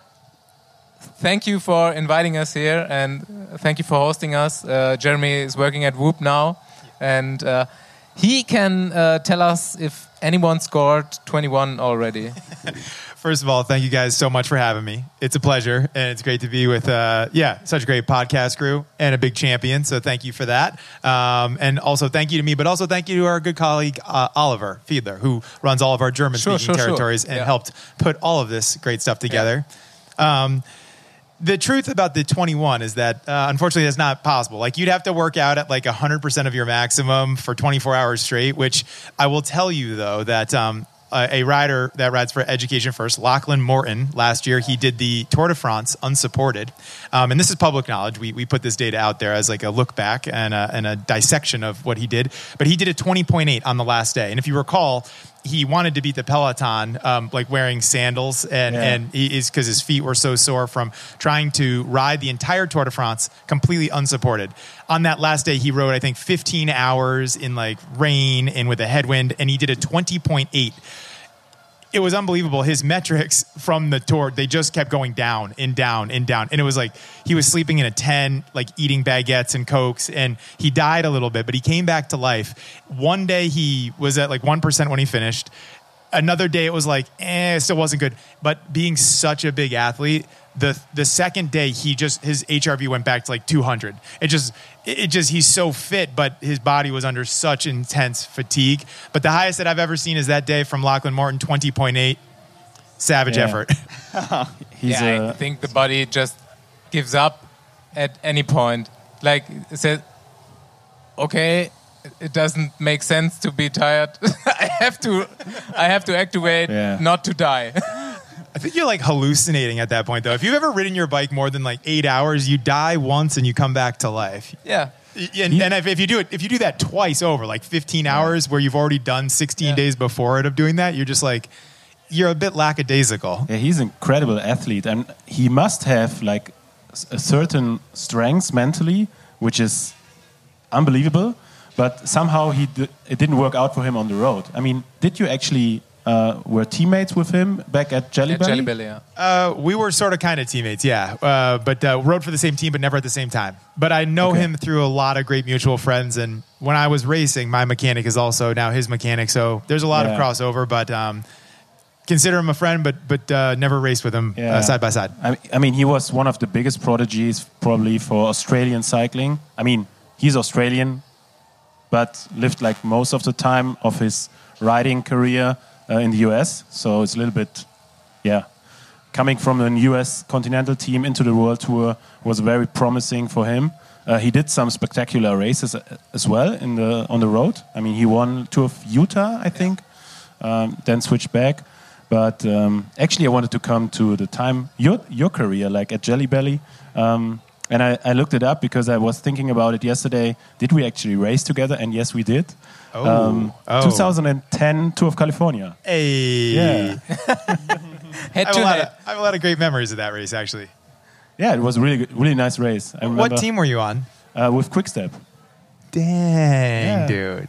thank you for inviting us here and thank you for hosting us. Uh, Jeremy is working at Whoop now, and uh, he can uh, tell us if anyone scored twenty-one already. First of all, thank you guys so much for having me. It's a pleasure, and it's great to be with, uh, yeah, such a great podcast crew and a big champion. So thank you for that. Um, and also thank you to me, but also thank you to our good colleague, uh, Oliver Fiedler, who runs all of our German-speaking Sure, sure, sure. territories and Yeah. helped put all of this great stuff together. Um, the truth about the twenty-one is that, uh, unfortunately, that's not possible. Like, you'd have to work out at like one hundred percent of your maximum for twenty-four hours straight, which I will tell you, though, that um, a, a rider that rides for Education First, Lachlan Morton, last year, he did the Tour de France unsupported. Um, and this is public knowledge. We, we put this data out there as like a look back and a, and a dissection of what he did. But he did a twenty point eight on the last day. And if you recall, he wanted to beat the peloton, um, like wearing sandals, and Yeah. and he is because his feet were so sore from trying to ride the entire Tour de France completely unsupported. On that last day, he rode I think fifteen hours in like rain and with a headwind, and he did a twenty point eight. It was unbelievable. His metrics from the tour, they just kept going down and down and down. And it was like he was sleeping in a tent, like eating baguettes and Cokes, and he died a little bit, but he came back to life. One day he was at like one percent when he finished. Another day it was like, eh, it still wasn't good. But being such a big athlete, the the second day he just, his H R V went back to like two hundred. It just, it just, he's so fit, but his body was under such intense fatigue. But the highest that I've ever seen is that day from Lachlan Morton, twenty point eight. Savage Yeah. effort. He's yeah, I a, think the body just gives up at any point. Like, it says, okay, it doesn't make sense to be tired. I have to, I have to activate Yeah. not to die. I think you're like hallucinating at that point, though. If you've ever ridden your bike more than like eight hours, you die once and you come back to life. yeah. And, and if, if you do it, if you do that twice over, like fifteen hours, where you've already done sixteen Yeah. days before it of doing that, you're just like, you're a bit lackadaisical. yeah, he's an incredible athlete, and he must have like s- a certain strengths mentally, which is unbelievable. But somehow he d- it didn't work out for him on the road. I mean, did you actually uh, were teammates with him back at Jelly At Belly? Jelly Belly, yeah. Uh, we were sort of kind of teammates, yeah. Uh, but uh, rode for the same team, but never at the same time. But I know Okay. him through a lot of great mutual friends. And when I was racing, my mechanic is also now his mechanic. So there's a lot Yeah. of crossover, but um, consider him a friend, but but uh, never raced with him Yeah. uh, side by side. I, I mean, he was one of the biggest prodigies probably for Australian cycling. I mean, he's Australian, but lived like most of the time of his riding career uh, in the U S. So it's a little bit, yeah, coming from a U S continental team into the World Tour was very promising for him. Uh, he did some spectacular races as well in the on the road. I mean, he won Tour of Utah, I think, um, then switched back. But um, actually, I wanted to come to the time your your career, like at Jelly Belly, um, and I, I looked it up because I was thinking about it yesterday. Did we actually race together? And yes, we did. Oh, um, oh. twenty ten Tour of California. Hey, Yeah, Head I have, to a lot head. of, I have a lot of great memories of that race, actually. yeah, it was a really good- really nice race. I remember, What team were you on? Uh, with Quickstep. Dang, Yeah. dude.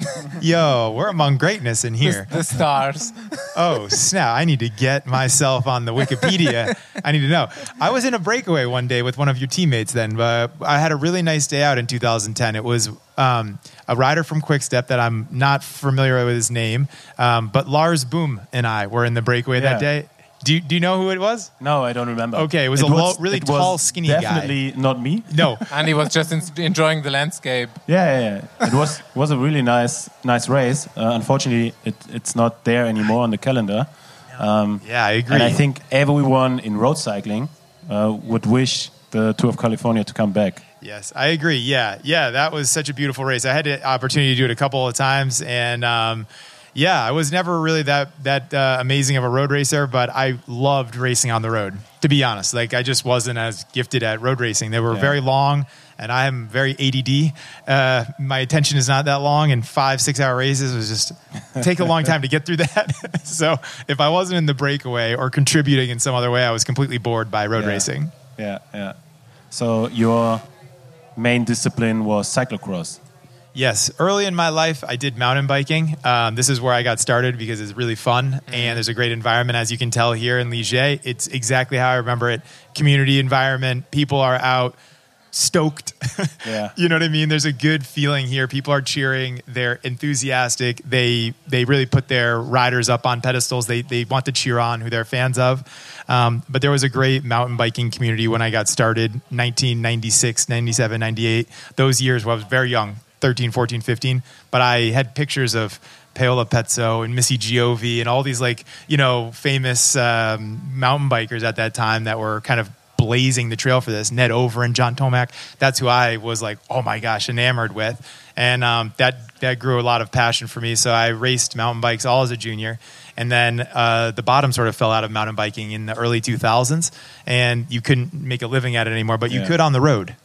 Yo, we're among greatness in here. The stars. Oh, snap. I need to get myself on the Wikipedia. I need to know. I was in a breakaway one day with one of your teammates then. Uh, I had a really nice day out in two thousand ten. It was um, a rider from Quickstep that I'm not familiar with his name, um, but Lars Boom and I were in the breakaway that Yeah. day. Do you, do you know who it was? No, I don't remember. Okay, it was a low- really it was tall, skinny guy. Definitely not me. No. And he was just in, enjoying the landscape. Yeah, yeah, yeah. It was was a really nice nice race. Uh, unfortunately, it, it's not there anymore on the calendar. Um, Yeah, I agree. and I think everyone in road cycling uh, would wish the Tour of California to come back. Yes, I agree. Yeah, yeah, that was such a beautiful race. I had the opportunity to do it a couple of times, and um, yeah, I was never really that that uh, amazing of a road racer, but I loved racing on the road. To be honest, like I just wasn't as gifted at road racing. They were Yeah. very long, and I am very A D D. Uh, my attention is not that long, and five six hour races was just take a long time to get through that. So if I wasn't in the breakaway or contributing in some other way, I was completely bored by road Yeah. racing. Yeah, yeah. So your main discipline was cyclocross. Yes, early in my life, I did mountain biking. Um, this is where I got started because it's really fun and there's a great environment, as you can tell here in Ligier. It's exactly how I remember it. Community environment, people are out, stoked. Yeah. You know what I mean? There's a good feeling here. People are cheering. They're enthusiastic. They they really put their riders up on pedestals. They they want to cheer on who they're fans of. Um, but there was a great mountain biking community when I got started, nineteen ninety-six, ninety-seven, ninety-eight. Those years where I was very young. thirteen, fourteen, fifteen, but I had pictures of Paola Pezzo and Missy Giovi and all these like, you know, famous um, mountain bikers at that time that were kind of blazing the trail for this. Ned Over and John Tomac. That's who I was like, oh my gosh, enamored with. And um, that, that grew a lot of passion for me. So I raced mountain bikes all as a junior. And then uh, the bottom sort of fell out of mountain biking in the early two thousands. And you couldn't make a living at it anymore, but you Yeah. could on the road.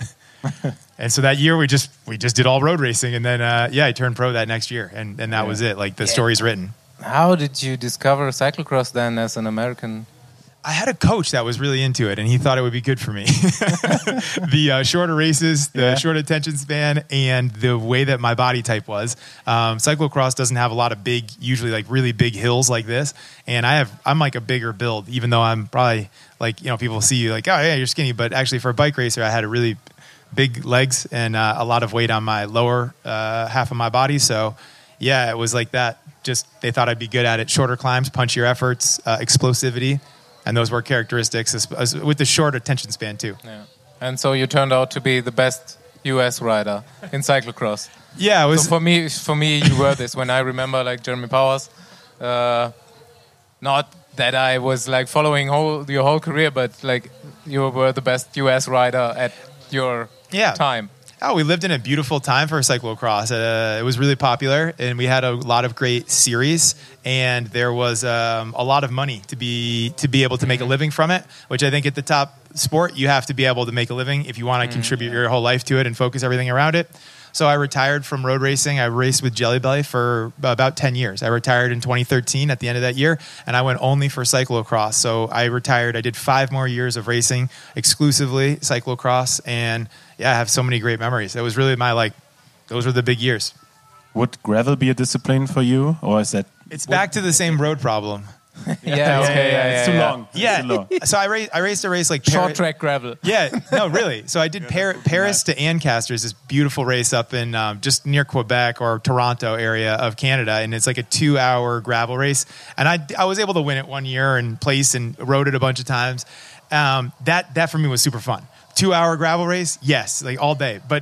And so that year we just we just did all road racing, and then uh, yeah, I turned pro that next year, and, and that Yeah. was it. Like the story's written. How did you discover cyclocross then as an American? I had a coach that was really into it, and he thought it would be good for me. The uh, shorter races, the Yeah. short attention span, and the way that my body type was. Um, cyclocross doesn't have a lot of big, usually like really big hills like this, and I have I'm like a bigger build, even though I'm probably like, you know, people see you like, oh yeah, you're skinny, but actually for a bike racer, I had a really big legs and uh, a lot of weight on my lower uh, half of my body. So yeah, it was like that. Just they thought I'd be good at it. Shorter climbs, punchier efforts, uh, explosivity. And those were characteristics as, as, with the short attention span too. Yeah. And so you turned out to be the best U S rider in cyclocross. Yeah, it was. So for me, for me, you were this. When I remember, like Jeremy Powers, uh, not that I was like following whole your whole career, but like you were the best U S rider at your Yeah. time. Oh, we lived in a beautiful time for cyclocross. Uh, it was really popular, and we had a lot of great series, and there was um, a lot of money to be to be able to make a living from it. Which I think at the top sport, you have to be able to make a living if you want to contribute your whole life to it and focus everything around it. So I retired from road racing. I raced with Jelly Belly for about ten years. I retired in twenty thirteen at the end of that year, and I went only for cyclocross. So I retired. I did five more years of racing exclusively cyclocross, and yeah, I have so many great memories. It was really my, like, those were the big years. Would gravel be a discipline for you, or is that? It's back to the same road problem. Yeah, okay, yeah, it's yeah, too yeah. long. It's Yeah. too long. So I raced, I raced a race like Short Paris- track gravel. Yeah, no, really. So I did Par- Paris to Ancaster, this beautiful race up in um, just near Quebec or Toronto area of Canada, and it's like a two-hour gravel race. And I, I was able to win it one year and place and rode it a bunch of times. Um, that that for me was super fun. Two-hour gravel race, yes, like all day. But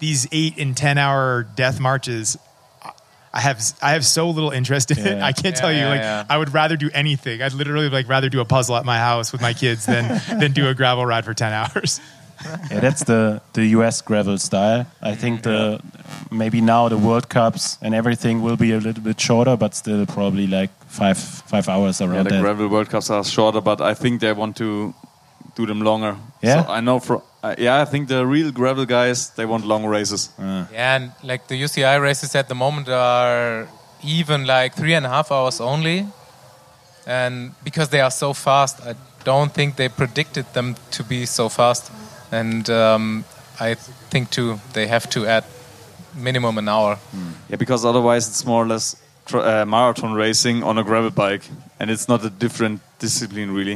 these eight and ten hour death marches, I have I have so little interest in it. Yeah. I can't Yeah, tell you. yeah, Like yeah. I would rather do anything. I'd literally like rather do a puzzle at my house with my kids than than do a gravel ride for ten hours. Yeah, that's the, the U S gravel style. I think the maybe now the World Cups and everything will be a little bit shorter, but still probably like five five hours around Yeah, the that. gravel World Cups are shorter, but I think they want to do them longer. Yeah? So I know for uh, yeah, I think the real gravel guys they want long races. Yeah, and like the U C I races at the moment are even like three and a half hours only. And because they are so fast, I don't think they predicted them to be so fast. And um, I think too, they have to add minimum an hour. Yeah, because otherwise it's more or less tr uh, marathon racing on a gravel bike, and it's not a different discipline really.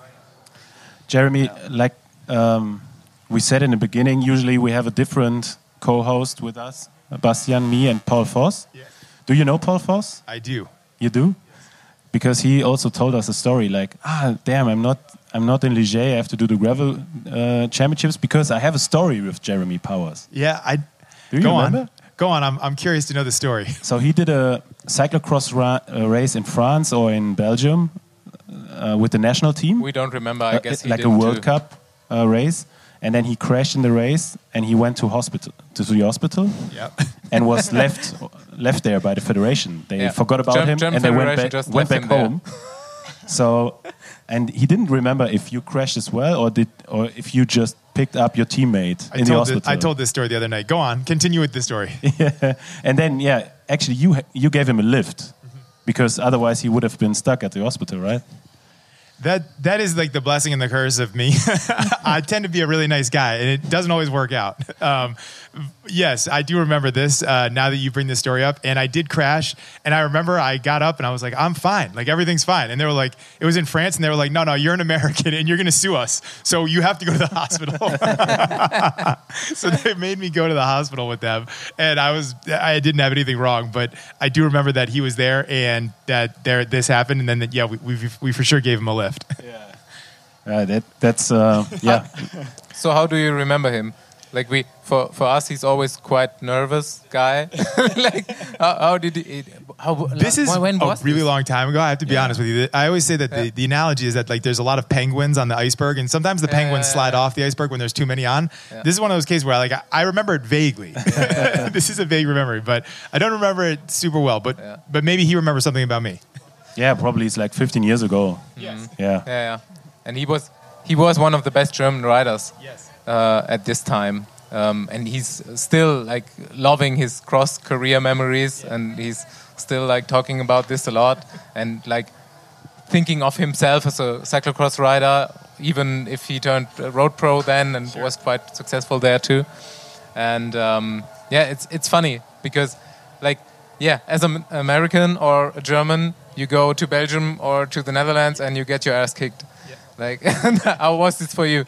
Jeremy, like um, we said in the beginning, usually we have a different co-host with us, Bastian, me, and Paul Voss. Yes. Do you know Paul Voss? I do. You do? Because he also told us a story like, ah, damn, I'm not, I'm not in Ligier. I have to do the gravel uh, championships because I have a story with Jeremy Powers. Yeah, I. Do you go remember? on. Go on. I'm I'm curious to know the story. So he did a cyclocross ra uh, race in France or in Belgium uh, with the national team. We don't remember, I Uh, guess he like a didn't World too. Cup uh, race, and then he crashed in the race, and he went to hospital to the hospital, Yep. and was left left there by the federation. They Yeah. forgot about Germ- him, German and they went Federation back just went left back him there. home. So, and he didn't remember if you crashed as well, or did, or if you just picked up your teammate I in the told hospital. thi- I told this story the other night. Go on. Continue with the story. Yeah. And then, yeah, actually, you ha- you gave him a lift Mm-hmm. because otherwise he would have been stuck at the hospital, right? That that is like the blessing and the curse of me. I tend to be a really nice guy, and it doesn't always work out. Um, yes, I do remember this. Uh, now that you bring this story up, and I did crash, and I remember I got up and I was like, "I'm fine, like everything's fine." And they were like, "It was in France," and they were like, "No, no, you're an American, and you're going to sue us, so you have to go to the hospital." So they made me go to the hospital with them, and I was I didn't have anything wrong, but I do remember that he was there and that there this happened, and then that, yeah, we, we we for sure gave him a lift. Uh, that that's uh, yeah. So how do you remember him? Like we, for for us, he's always quite nervous guy. Like how, how did he? How This is when a was really this? long time ago. I have to be Yeah. honest with you. I always say that Yeah. the, the analogy is that like there's a lot of penguins on the iceberg, and sometimes the Yeah, penguins yeah, slide yeah. off the iceberg when there's too many on. Yeah. This is one of those cases where like I, I remember it vaguely. This is a vague memory, but I don't remember it super well. But Yeah. but maybe he remembers something about me. Yeah, probably it's like fifteen years ago. Yes. Yeah. Yeah, yeah. And he was he was one of the best German riders Yes. uh, at this time. Um, and he's still like loving his cross career memories, and he's still like talking about this a lot, and like thinking of himself as a cyclocross rider, even if he turned uh, road pro then and was quite successful there too. And um, yeah, it's it's funny because like yeah, as an American or a German, you go to Belgium or to the Netherlands and you get your ass kicked. Like how was this for you?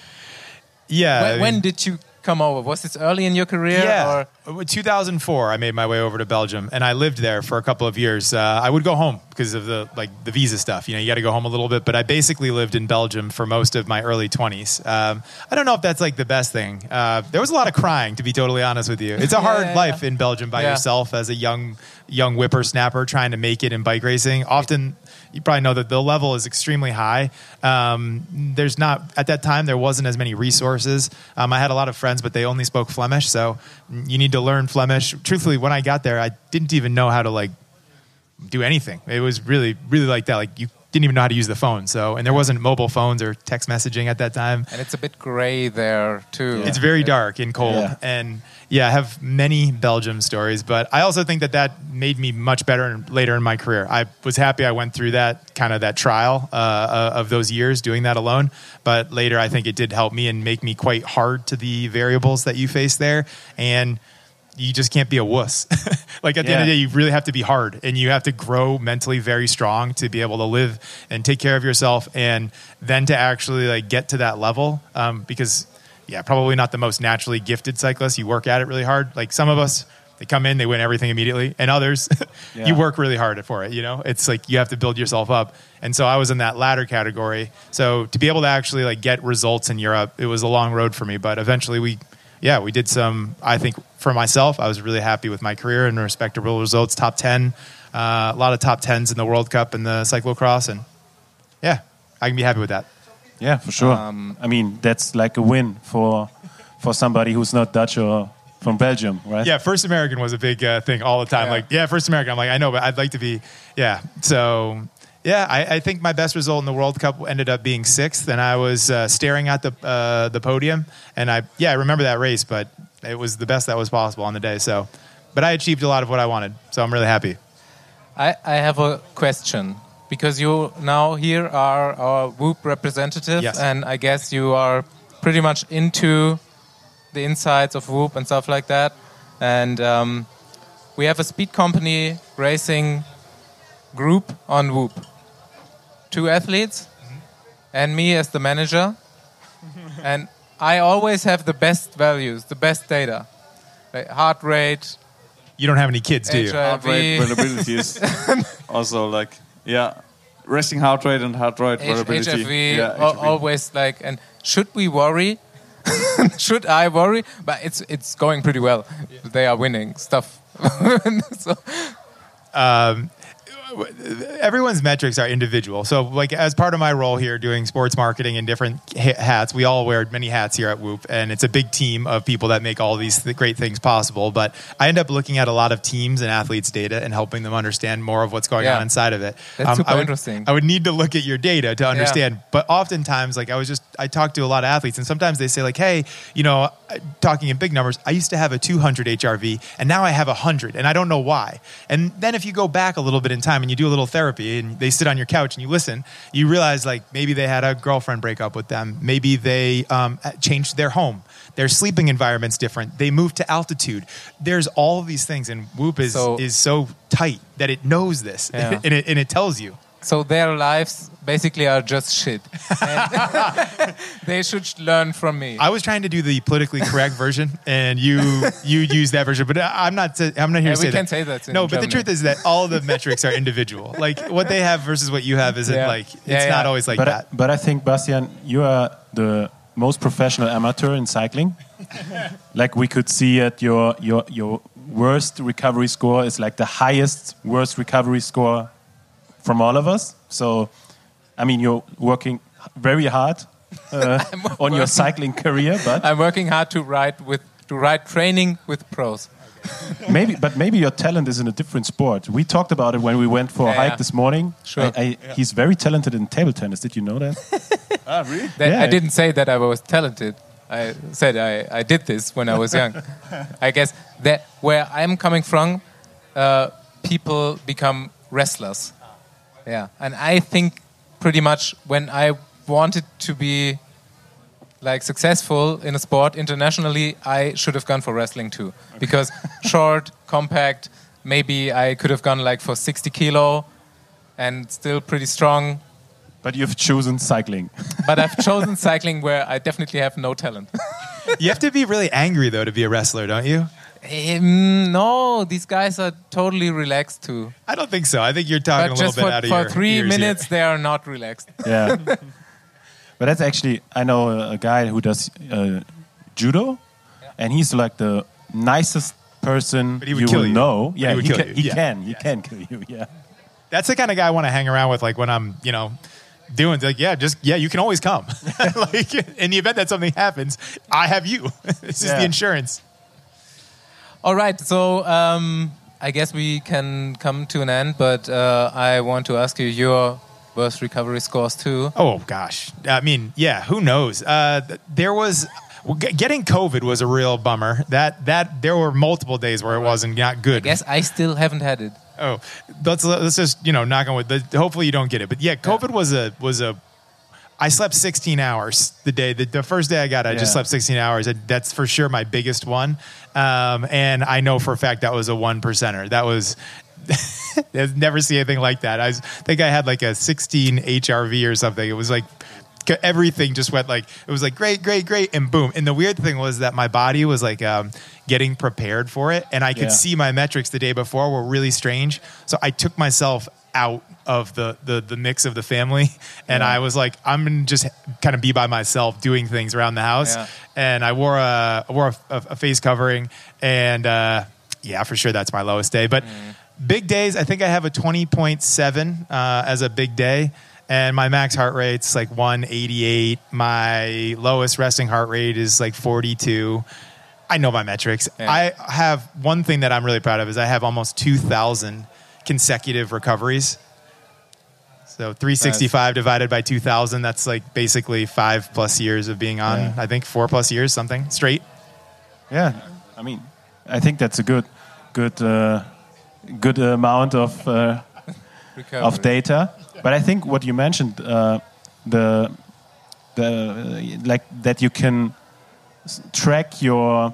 Yeah. when, I when mean- did you come over? Was this early in your career? Yeah, Or? two thousand four. I made my way over to Belgium, and I lived there for a couple of years. Uh, I would go home because of the like the visa stuff. You know, you got to go home a little bit. But I basically lived in Belgium for most of my early twenties. Um, I don't know if that's like the best thing. Uh, there was a lot of crying, to be totally honest with you. It's a hard yeah, life yeah. in Belgium by Yeah. yourself as a young young whippersnapper trying to make it in bike racing. Often. You probably know that the level is extremely high. Um, there's not, at that time, there wasn't as many resources. Um, I had a lot of friends, but they only spoke Flemish, so you need to learn Flemish. Truthfully, when I got there, I didn't even know how to like do anything. It was really, really like that. Like you didn't even know how to use the phone. So, and there wasn't mobile phones or text messaging at that time. And it's a bit gray there too. It's very dark and cold. Yeah. And yeah, I have many Belgium stories, but I also think that that made me much better in, later in my career. I was happy I went through that kind of that trial uh, of those years doing that alone. But later, I think it did help me and make me quite hard to the variables that you face there. And you just can't be a wuss. Like at the end of the Yeah. day, you really have to be hard and you have to grow mentally very strong to be able to live and take care of yourself. And then to actually like get to that level, um, because yeah, probably not the most naturally gifted cyclists. You work at it really hard. Like some of us, they come in, they win everything immediately. And others, Yeah. you work really hard for it. You know, it's like you have to build yourself up. And so I was in that latter category. So to be able to actually like get results in Europe, it was a long road for me. But eventually we yeah, we did some, I think for myself, I was really happy with my career and respectable results, top ten, uh, a lot of top tens in the World Cup and the cyclocross. And yeah, I can be happy with that. Yeah, for sure. Um, I mean, that's like a win for for somebody who's not Dutch or from Belgium, right? Yeah, First American was a big uh, thing all the time. Yeah. Like, yeah, First American. I'm like, I know, but I'd like to be, yeah. So, yeah, I, I think my best result in the World Cup ended up being sixth, and I was uh, staring at the uh, the podium. And I, yeah, I remember that race, but it was the best that was possible on the day. So, but I achieved a lot of what I wanted, so I'm really happy. I, I have a question. Because you now here are our Whoop representative, Yes. and I guess you are pretty much into the insides of Whoop and stuff like that. And um, we have a speed company racing group on Whoop. Two athletes, mm-hmm. and me as the manager. And I always have the best values, the best data. Like heart rate. You don't have any kids, do you? H I V. Heart rate variability is also like, yeah, resting heart rate and heart rate H- variability. HFV, Yeah, al- H F V. always like, and should we worry? Should I worry? But it's it's going pretty well. They are winning stuff. So, Um, everyone's metrics are individual. So, like, as part of my role here doing sports marketing and different ha- hats, we all wear many hats here at Whoop, and it's a big team of people that make all these th- great things possible. But I end up looking at a lot of teams and athletes' data and helping them understand more of what's going Yeah. on inside of it. That's super I would, interesting. I would need to look at your data to understand. Yeah. But oftentimes, like, I was just, I talk to a lot of athletes, and sometimes they say, like, hey, you know, talking in big numbers, I used to have a two hundred H R V, and now I have one hundred, and I don't know why. And then if you go back a little bit in time and you do a little therapy and they sit on your couch and you listen, you realize, like, maybe they had a girlfriend break up with them. Maybe they um, changed their home. Their sleeping environment's different. They moved to altitude. There's all of these things, and Whoop is So- is so tight that it knows this, Yeah. and, it, and it tells you. so their lives basically are just shit. And they should learn from me. I was trying to do the politically correct version, and you you use that version. But I'm not. To, I'm not here Yeah, to we say can that. say that in No, but the Germany. truth is that all the metrics are individual. Like what they have versus what you have isn't Yeah. like. It's Yeah, not yeah. always like but, that. I, but I think, Bastian, you are the most professional amateur in cycling. Like we could see at your, your, your worst recovery score is like the highest worst recovery score from all of us. So, I mean, you're working very hard uh, on your cycling career, but I'm working hard to ride with to ride training with pros. maybe, but maybe your talent is in a different sport. We talked about it when we went for a Yeah, hike yeah. this morning. Sure. I, I, He's very talented in table tennis. Did you know that? Ah, really? That Yeah. I didn't say that I was talented. I said I, I did this when I was young. I guess that where I'm coming from, uh, people become wrestlers. Yeah, and I think pretty much when I wanted to be like successful in a sport internationally, I should have gone for wrestling too, because short, compact. Maybe I could have gone like for sixty kilo, and still pretty strong. But you've chosen cycling. But I've chosen cycling where I definitely have no talent. You have to be really angry though to be a wrestler, don't you? Um, no, these guys are totally relaxed too. I don't think so. I think you're talking But a little just bit for, out of for your three ears here. minutes, they are not relaxed. Yeah. But that's actually, I know a, a guy who does uh, judo, and he's like the nicest person But he would you kill will you. know. But Yeah, he would he, kill can, you. he Yeah. can. He can kill you. Yeah. That's the kind of guy I want to hang around with. Like when I'm, you know, doing like, yeah, just yeah, you can always come. Like in the event that something happens, I have you. This is Yeah. the insurance. All right, so um, I guess we can come to an end, but uh, I want to ask you your worst recovery scores too. Oh gosh, I mean, yeah, who knows? Uh, th- there was well, g- getting COVID was a real bummer. That that there were multiple days where it wasn't not good. I guess I still haven't had it. Oh, let's let's just you know knock on wood. The- Hopefully you don't get it. But yeah, COVID was a was a. I slept sixteen hours the day. The, the first day I got it, I just Yeah. slept sixteen hours. And that's for sure my biggest one. Um, and I know for a fact that was a one percenter. That was. I've never seen anything like that. I was, think I had like a sixteen H R V or something. It was like everything just went like it was like great, great, great, and boom. And the weird thing was that my body was like um, getting prepared for it, and I could Yeah. see my metrics the day before were really strange. So I took myself out of the, the, the mix of the family. And yeah. I was like, I'm going to just kind of be by myself doing things around the house. Yeah. And I wore a, I wore a, a face covering. And uh, yeah, for sure, that's my lowest day. But mm. big days, I think I have a twenty point seven uh, as a big day. And my max heart rate's like one eighty-eight. My lowest resting heart rate is like forty-two. I know my metrics. Yeah. I have one thing that I'm really proud of is I have almost two thousand consecutive recoveries. So three sixty-five nice. Divided by two thousand, that's like basically five plus years of being on, yeah. I think four plus years, something straight. Yeah. I mean, I think that's a good, good, uh, good amount of, uh, of data. But I think what you mentioned, uh, the, the, like that you can track your,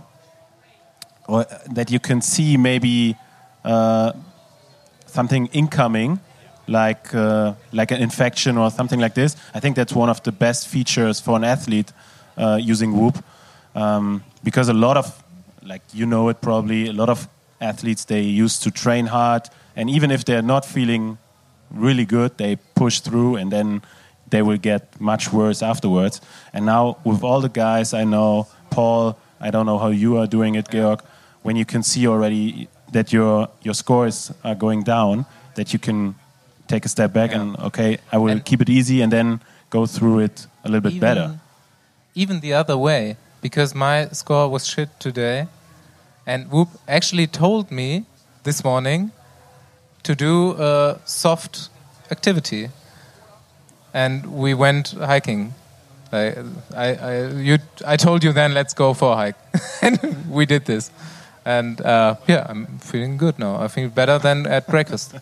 or that you can see maybe uh, something incoming, like uh, like an infection or something like this. I think that's one of the best features for an athlete uh, using Whoop, um, because a lot of, like you know it probably, a lot of athletes, they used to train hard, and even if they're not feeling really good, they push through, and then they will get much worse afterwards. And now with all the guys I know, Paul, I don't know how you are doing it, Georg, when you can see already that your your scores are going down, that you can take a step back yeah. and, okay, I will and keep it easy and then go through it a little bit even, better. Even the other way, because my score was shit today, and Whoop actually told me this morning to do a soft activity. And we went hiking. I, I, I, you, I told you then, let's go for a hike. And we did this. And uh, yeah, I'm feeling good now. I feel better than at breakfast.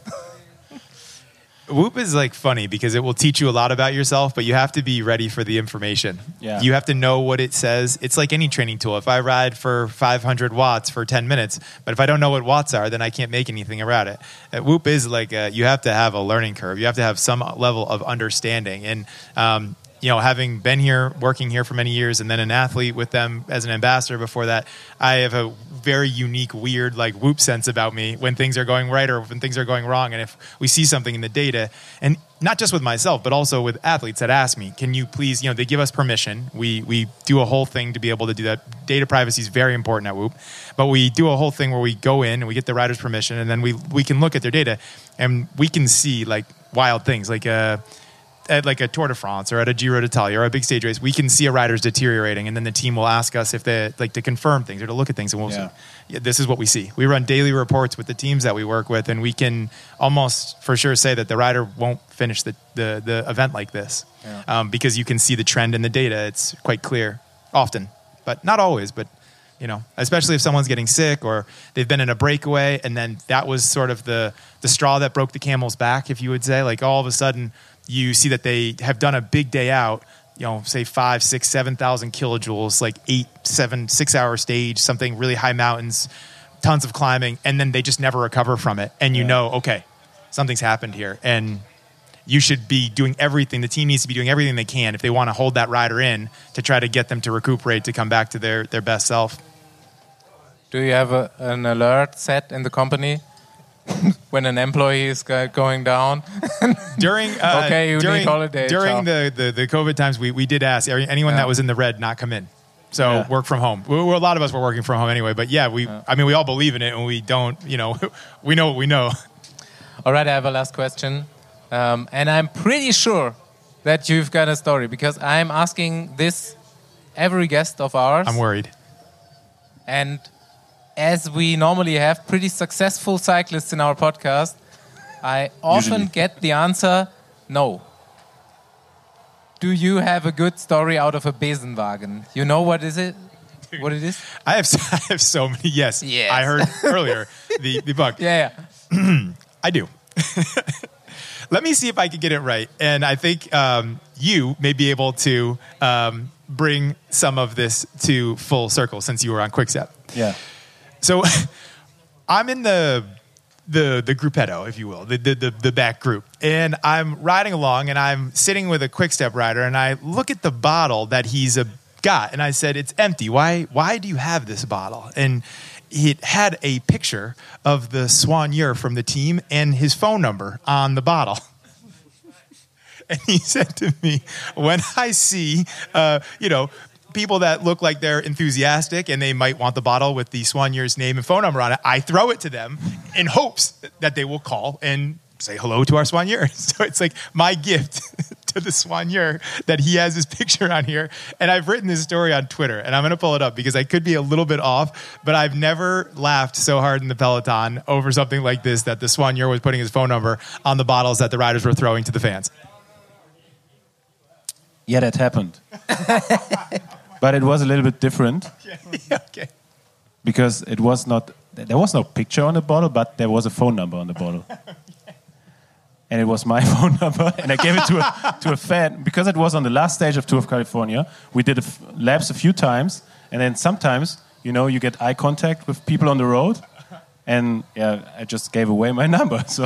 Whoop is like funny because it will teach you a lot about yourself, but you have to be ready for the information. Yeah. You have to know what it says. It's like any training tool. If I ride for five hundred watts for ten minutes, but if I don't know what watts are, then I can't make anything about it. Uh, Whoop is like a, you have to have a learning curve. You have to have some level of understanding. And um, you know, having been here, working here for many years, and then an athlete with them as an ambassador before that, I have a very unique, weird, like Whoop sense about me when things are going right or when things are going wrong. And if we see something in the data, and not just with myself, but also with athletes that ask me, can you please, you know, they give us permission. We we do a whole thing to be able to do that. Data privacy is very important at Whoop, but we do a whole thing where we go in and we get the riders' permission, and then we we can look at their data and we can see like wild things, like uh at like a Tour de France or at a Giro d'Italia or a big stage race, we can see a rider's deteriorating, and then the team will ask us if they like to confirm things or to look at things, and we'll yeah. say, yeah, this is what we see. We run daily reports with the teams that we work with, and we can almost for sure say that the rider won't finish the, the, the event like this yeah. um, because you can see the trend in the data. It's quite clear often, but not always, but you know, especially if someone's getting sick or they've been in a breakaway, and then that was sort of the, the straw that broke the camel's back, if you would say, like all of a sudden you see that they have done a big day out, you know, say five, six, seven thousand kilojoules, like eight, seven, six hour stage, something really high mountains, tons of climbing, and then they just never recover from it. And you yeah. know, okay, something's happened here, and you should be doing everything. The team needs to be doing everything they can if they want to hold that rider in to try to get them to recuperate, to come back to their, their best self. Do you have a, an alert set in the company? When an employee is going down during uh, okay you during, need holiday during the, the, the COVID times, we, we did ask anyone yeah. that was in the red not come in, so yeah. work from home. We, we, a lot of us were working from home anyway, but yeah we yeah. I mean we all believe in it, and we don't, you know, we know what we know. All right, I have a last question, um, and I'm pretty sure that you've got a story, because I'm asking this every guest of ours. I'm worried. And as we normally have pretty successful cyclists in our podcast, I often Usually. get the answer, no. Do you have a good story out of a Besenwagen? You know what is it? What it is? I have I have so many. Yes. yes. I heard earlier the, the bug. Yeah. yeah. I do. Let me see if I can get it right. And I think um, you may be able to um, bring some of this to full circle since you were on Quickstep. Yeah. So I'm in the the the gruppetto, if you will, the, the the the back group, and I'm riding along, and I'm sitting with a Quickstep rider, and I look at the bottle that he's a, got, and I said, "It's empty. Why why do you have this bottle?" And it had a picture of the soigneur from the team and his phone number on the bottle. And he said to me, when I see, uh, you know, people that look like they're enthusiastic and they might want the bottle with the soigneur's name and phone number on it, I throw it to them in hopes that they will call and say hello to our soigneur. So it's like my gift to the soigneur that he has his picture on here. And I've written this story on Twitter, and I'm going to pull it up because I could be a little bit off, but I've never laughed so hard in the peloton over something like this, that the soigneur was putting his phone number on the bottles that the riders were throwing to the fans. Yeah, that happened. But it was a little bit different. Yeah, okay. Because it was not, there was no picture on the bottle, but there was a phone number on the bottle. And it was my phone number, and I gave it to a, to a fan. Because it was on the last stage of Tour of California, we did a f- laps a few times, and then sometimes, you know, you get eye contact with people on the road, and yeah, I just gave away my number. So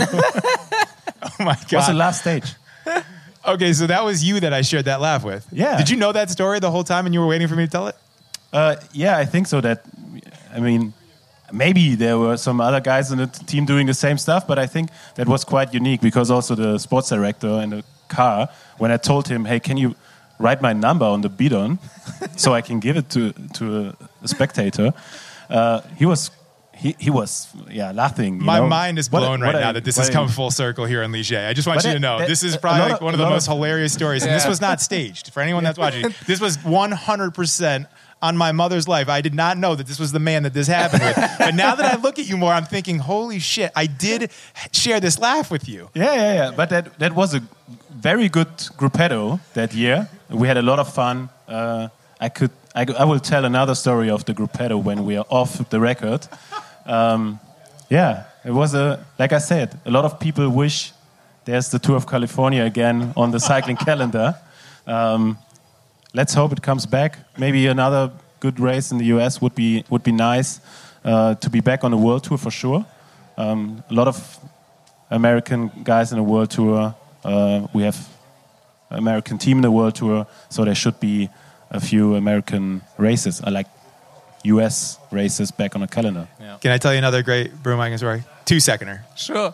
Oh my God. it was the last stage. Okay, so that was you that I shared that laugh with. Yeah. Did you know that story the whole time and you were waiting for me to tell it? Uh, yeah, I think so. That, I mean, maybe there were some other guys in the t- team doing the same stuff, but I think that was quite unique because also the sports director in the car, when I told him, hey, can you write my number on the bidon so I can give it to to a, a spectator, uh, he was he, he was yeah laughing. You My know? mind is What a- blown what right a- now that this what has a- come full circle here in Ligier. I just want But you that- to know that- this is a probably lot like of- one of a the lot most of- hilarious stories. And this Yeah. was not staged for anyone that's watching. This was one hundred percent on my mother's life. I did not know that this was the man that this happened with. But now that I look at you more, I'm thinking, holy shit, I did share this laugh with you. Yeah, yeah, yeah. But that that was a very good gruppetto that year. We had a lot of fun. Uh, I could I, I will tell another story of the gruppetto when we are off the record. Um, yeah, it was a like I said. A lot of people wish there's the Tour of California again on the cycling calendar. Um, let's hope it comes back. Maybe another good race in the U S would be would be nice uh, to be back on the World Tour for sure. Um, a lot of American guys in the World Tour. Uh, we have American team in the World Tour, so there should be a few American races. I like U S races back on the calendar. Yeah. Can I tell you another great broomwagon story? Two seconder. Sure.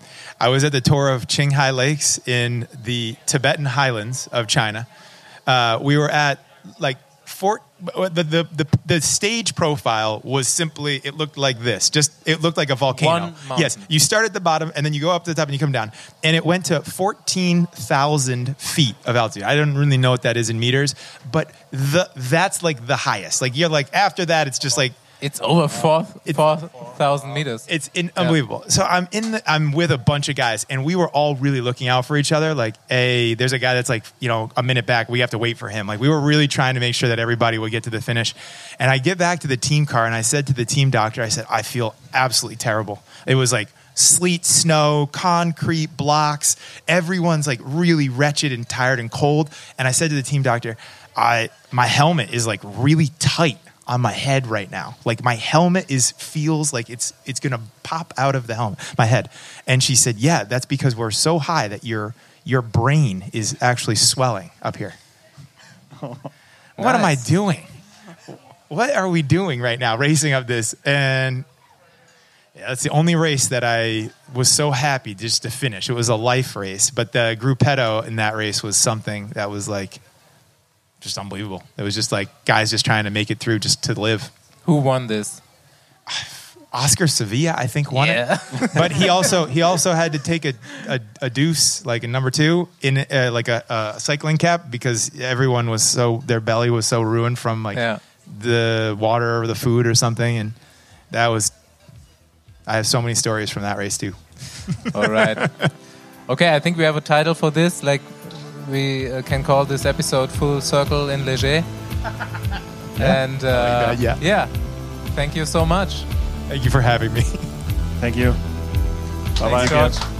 I was at the tour of Qinghai Lakes in the Tibetan highlands of China. Uh, we were at like Fort. The, the the the stage profile was simply, it looked like this. Just it looked like a volcano. One mountain. Yes, you start at the bottom and then you go up to the top and you come down, and it went to fourteen thousand feet of altitude. I don't really know what that is in meters, but the that's like the highest. Like you're like after that, it's just like. It's over four It's- four thousand meters. It's in, unbelievable. So I'm in the, I'm with a bunch of guys, and we were all really looking out for each other. Like, hey, there's a guy that's like, you know, a minute back. We have to wait for him. Like, we were really trying to make sure that everybody would get to the finish. And I get back to the team car, and I said to the team doctor, I said, I feel absolutely terrible. It was like sleet, snow, concrete blocks. Everyone's like really wretched and tired and cold. And I said to the team doctor, I my helmet is like really tight on my head right now. Like my helmet is feels like it's it's gonna pop out of the helmet, my head. And she said, yeah, that's because we're so high that your your brain is actually swelling up here. What am I Nice. doing? What are we doing right now, racing up this? And yeah, that's the only race that I was so happy just to finish. It was a life race, but the gruppetto in that race was something that was like just unbelievable. It was just like guys just trying to make it through just to live. Who won this? Oscar Sevilla, I think, won Yeah. it. But he also he also had to take a, a, a deuce, like a number two, in uh, like a, a cycling cap because everyone was so, their belly was so ruined from like Yeah. the water or the food or something. And that was, I have so many stories from that race too. All right. Okay, I think we have a title for this. Like, we uh, can call this episode Full Circle in Ligier. And uh, that, yeah. yeah, thank you so much. Thank you for having me. Thank you. Bye bye. Thanks, George.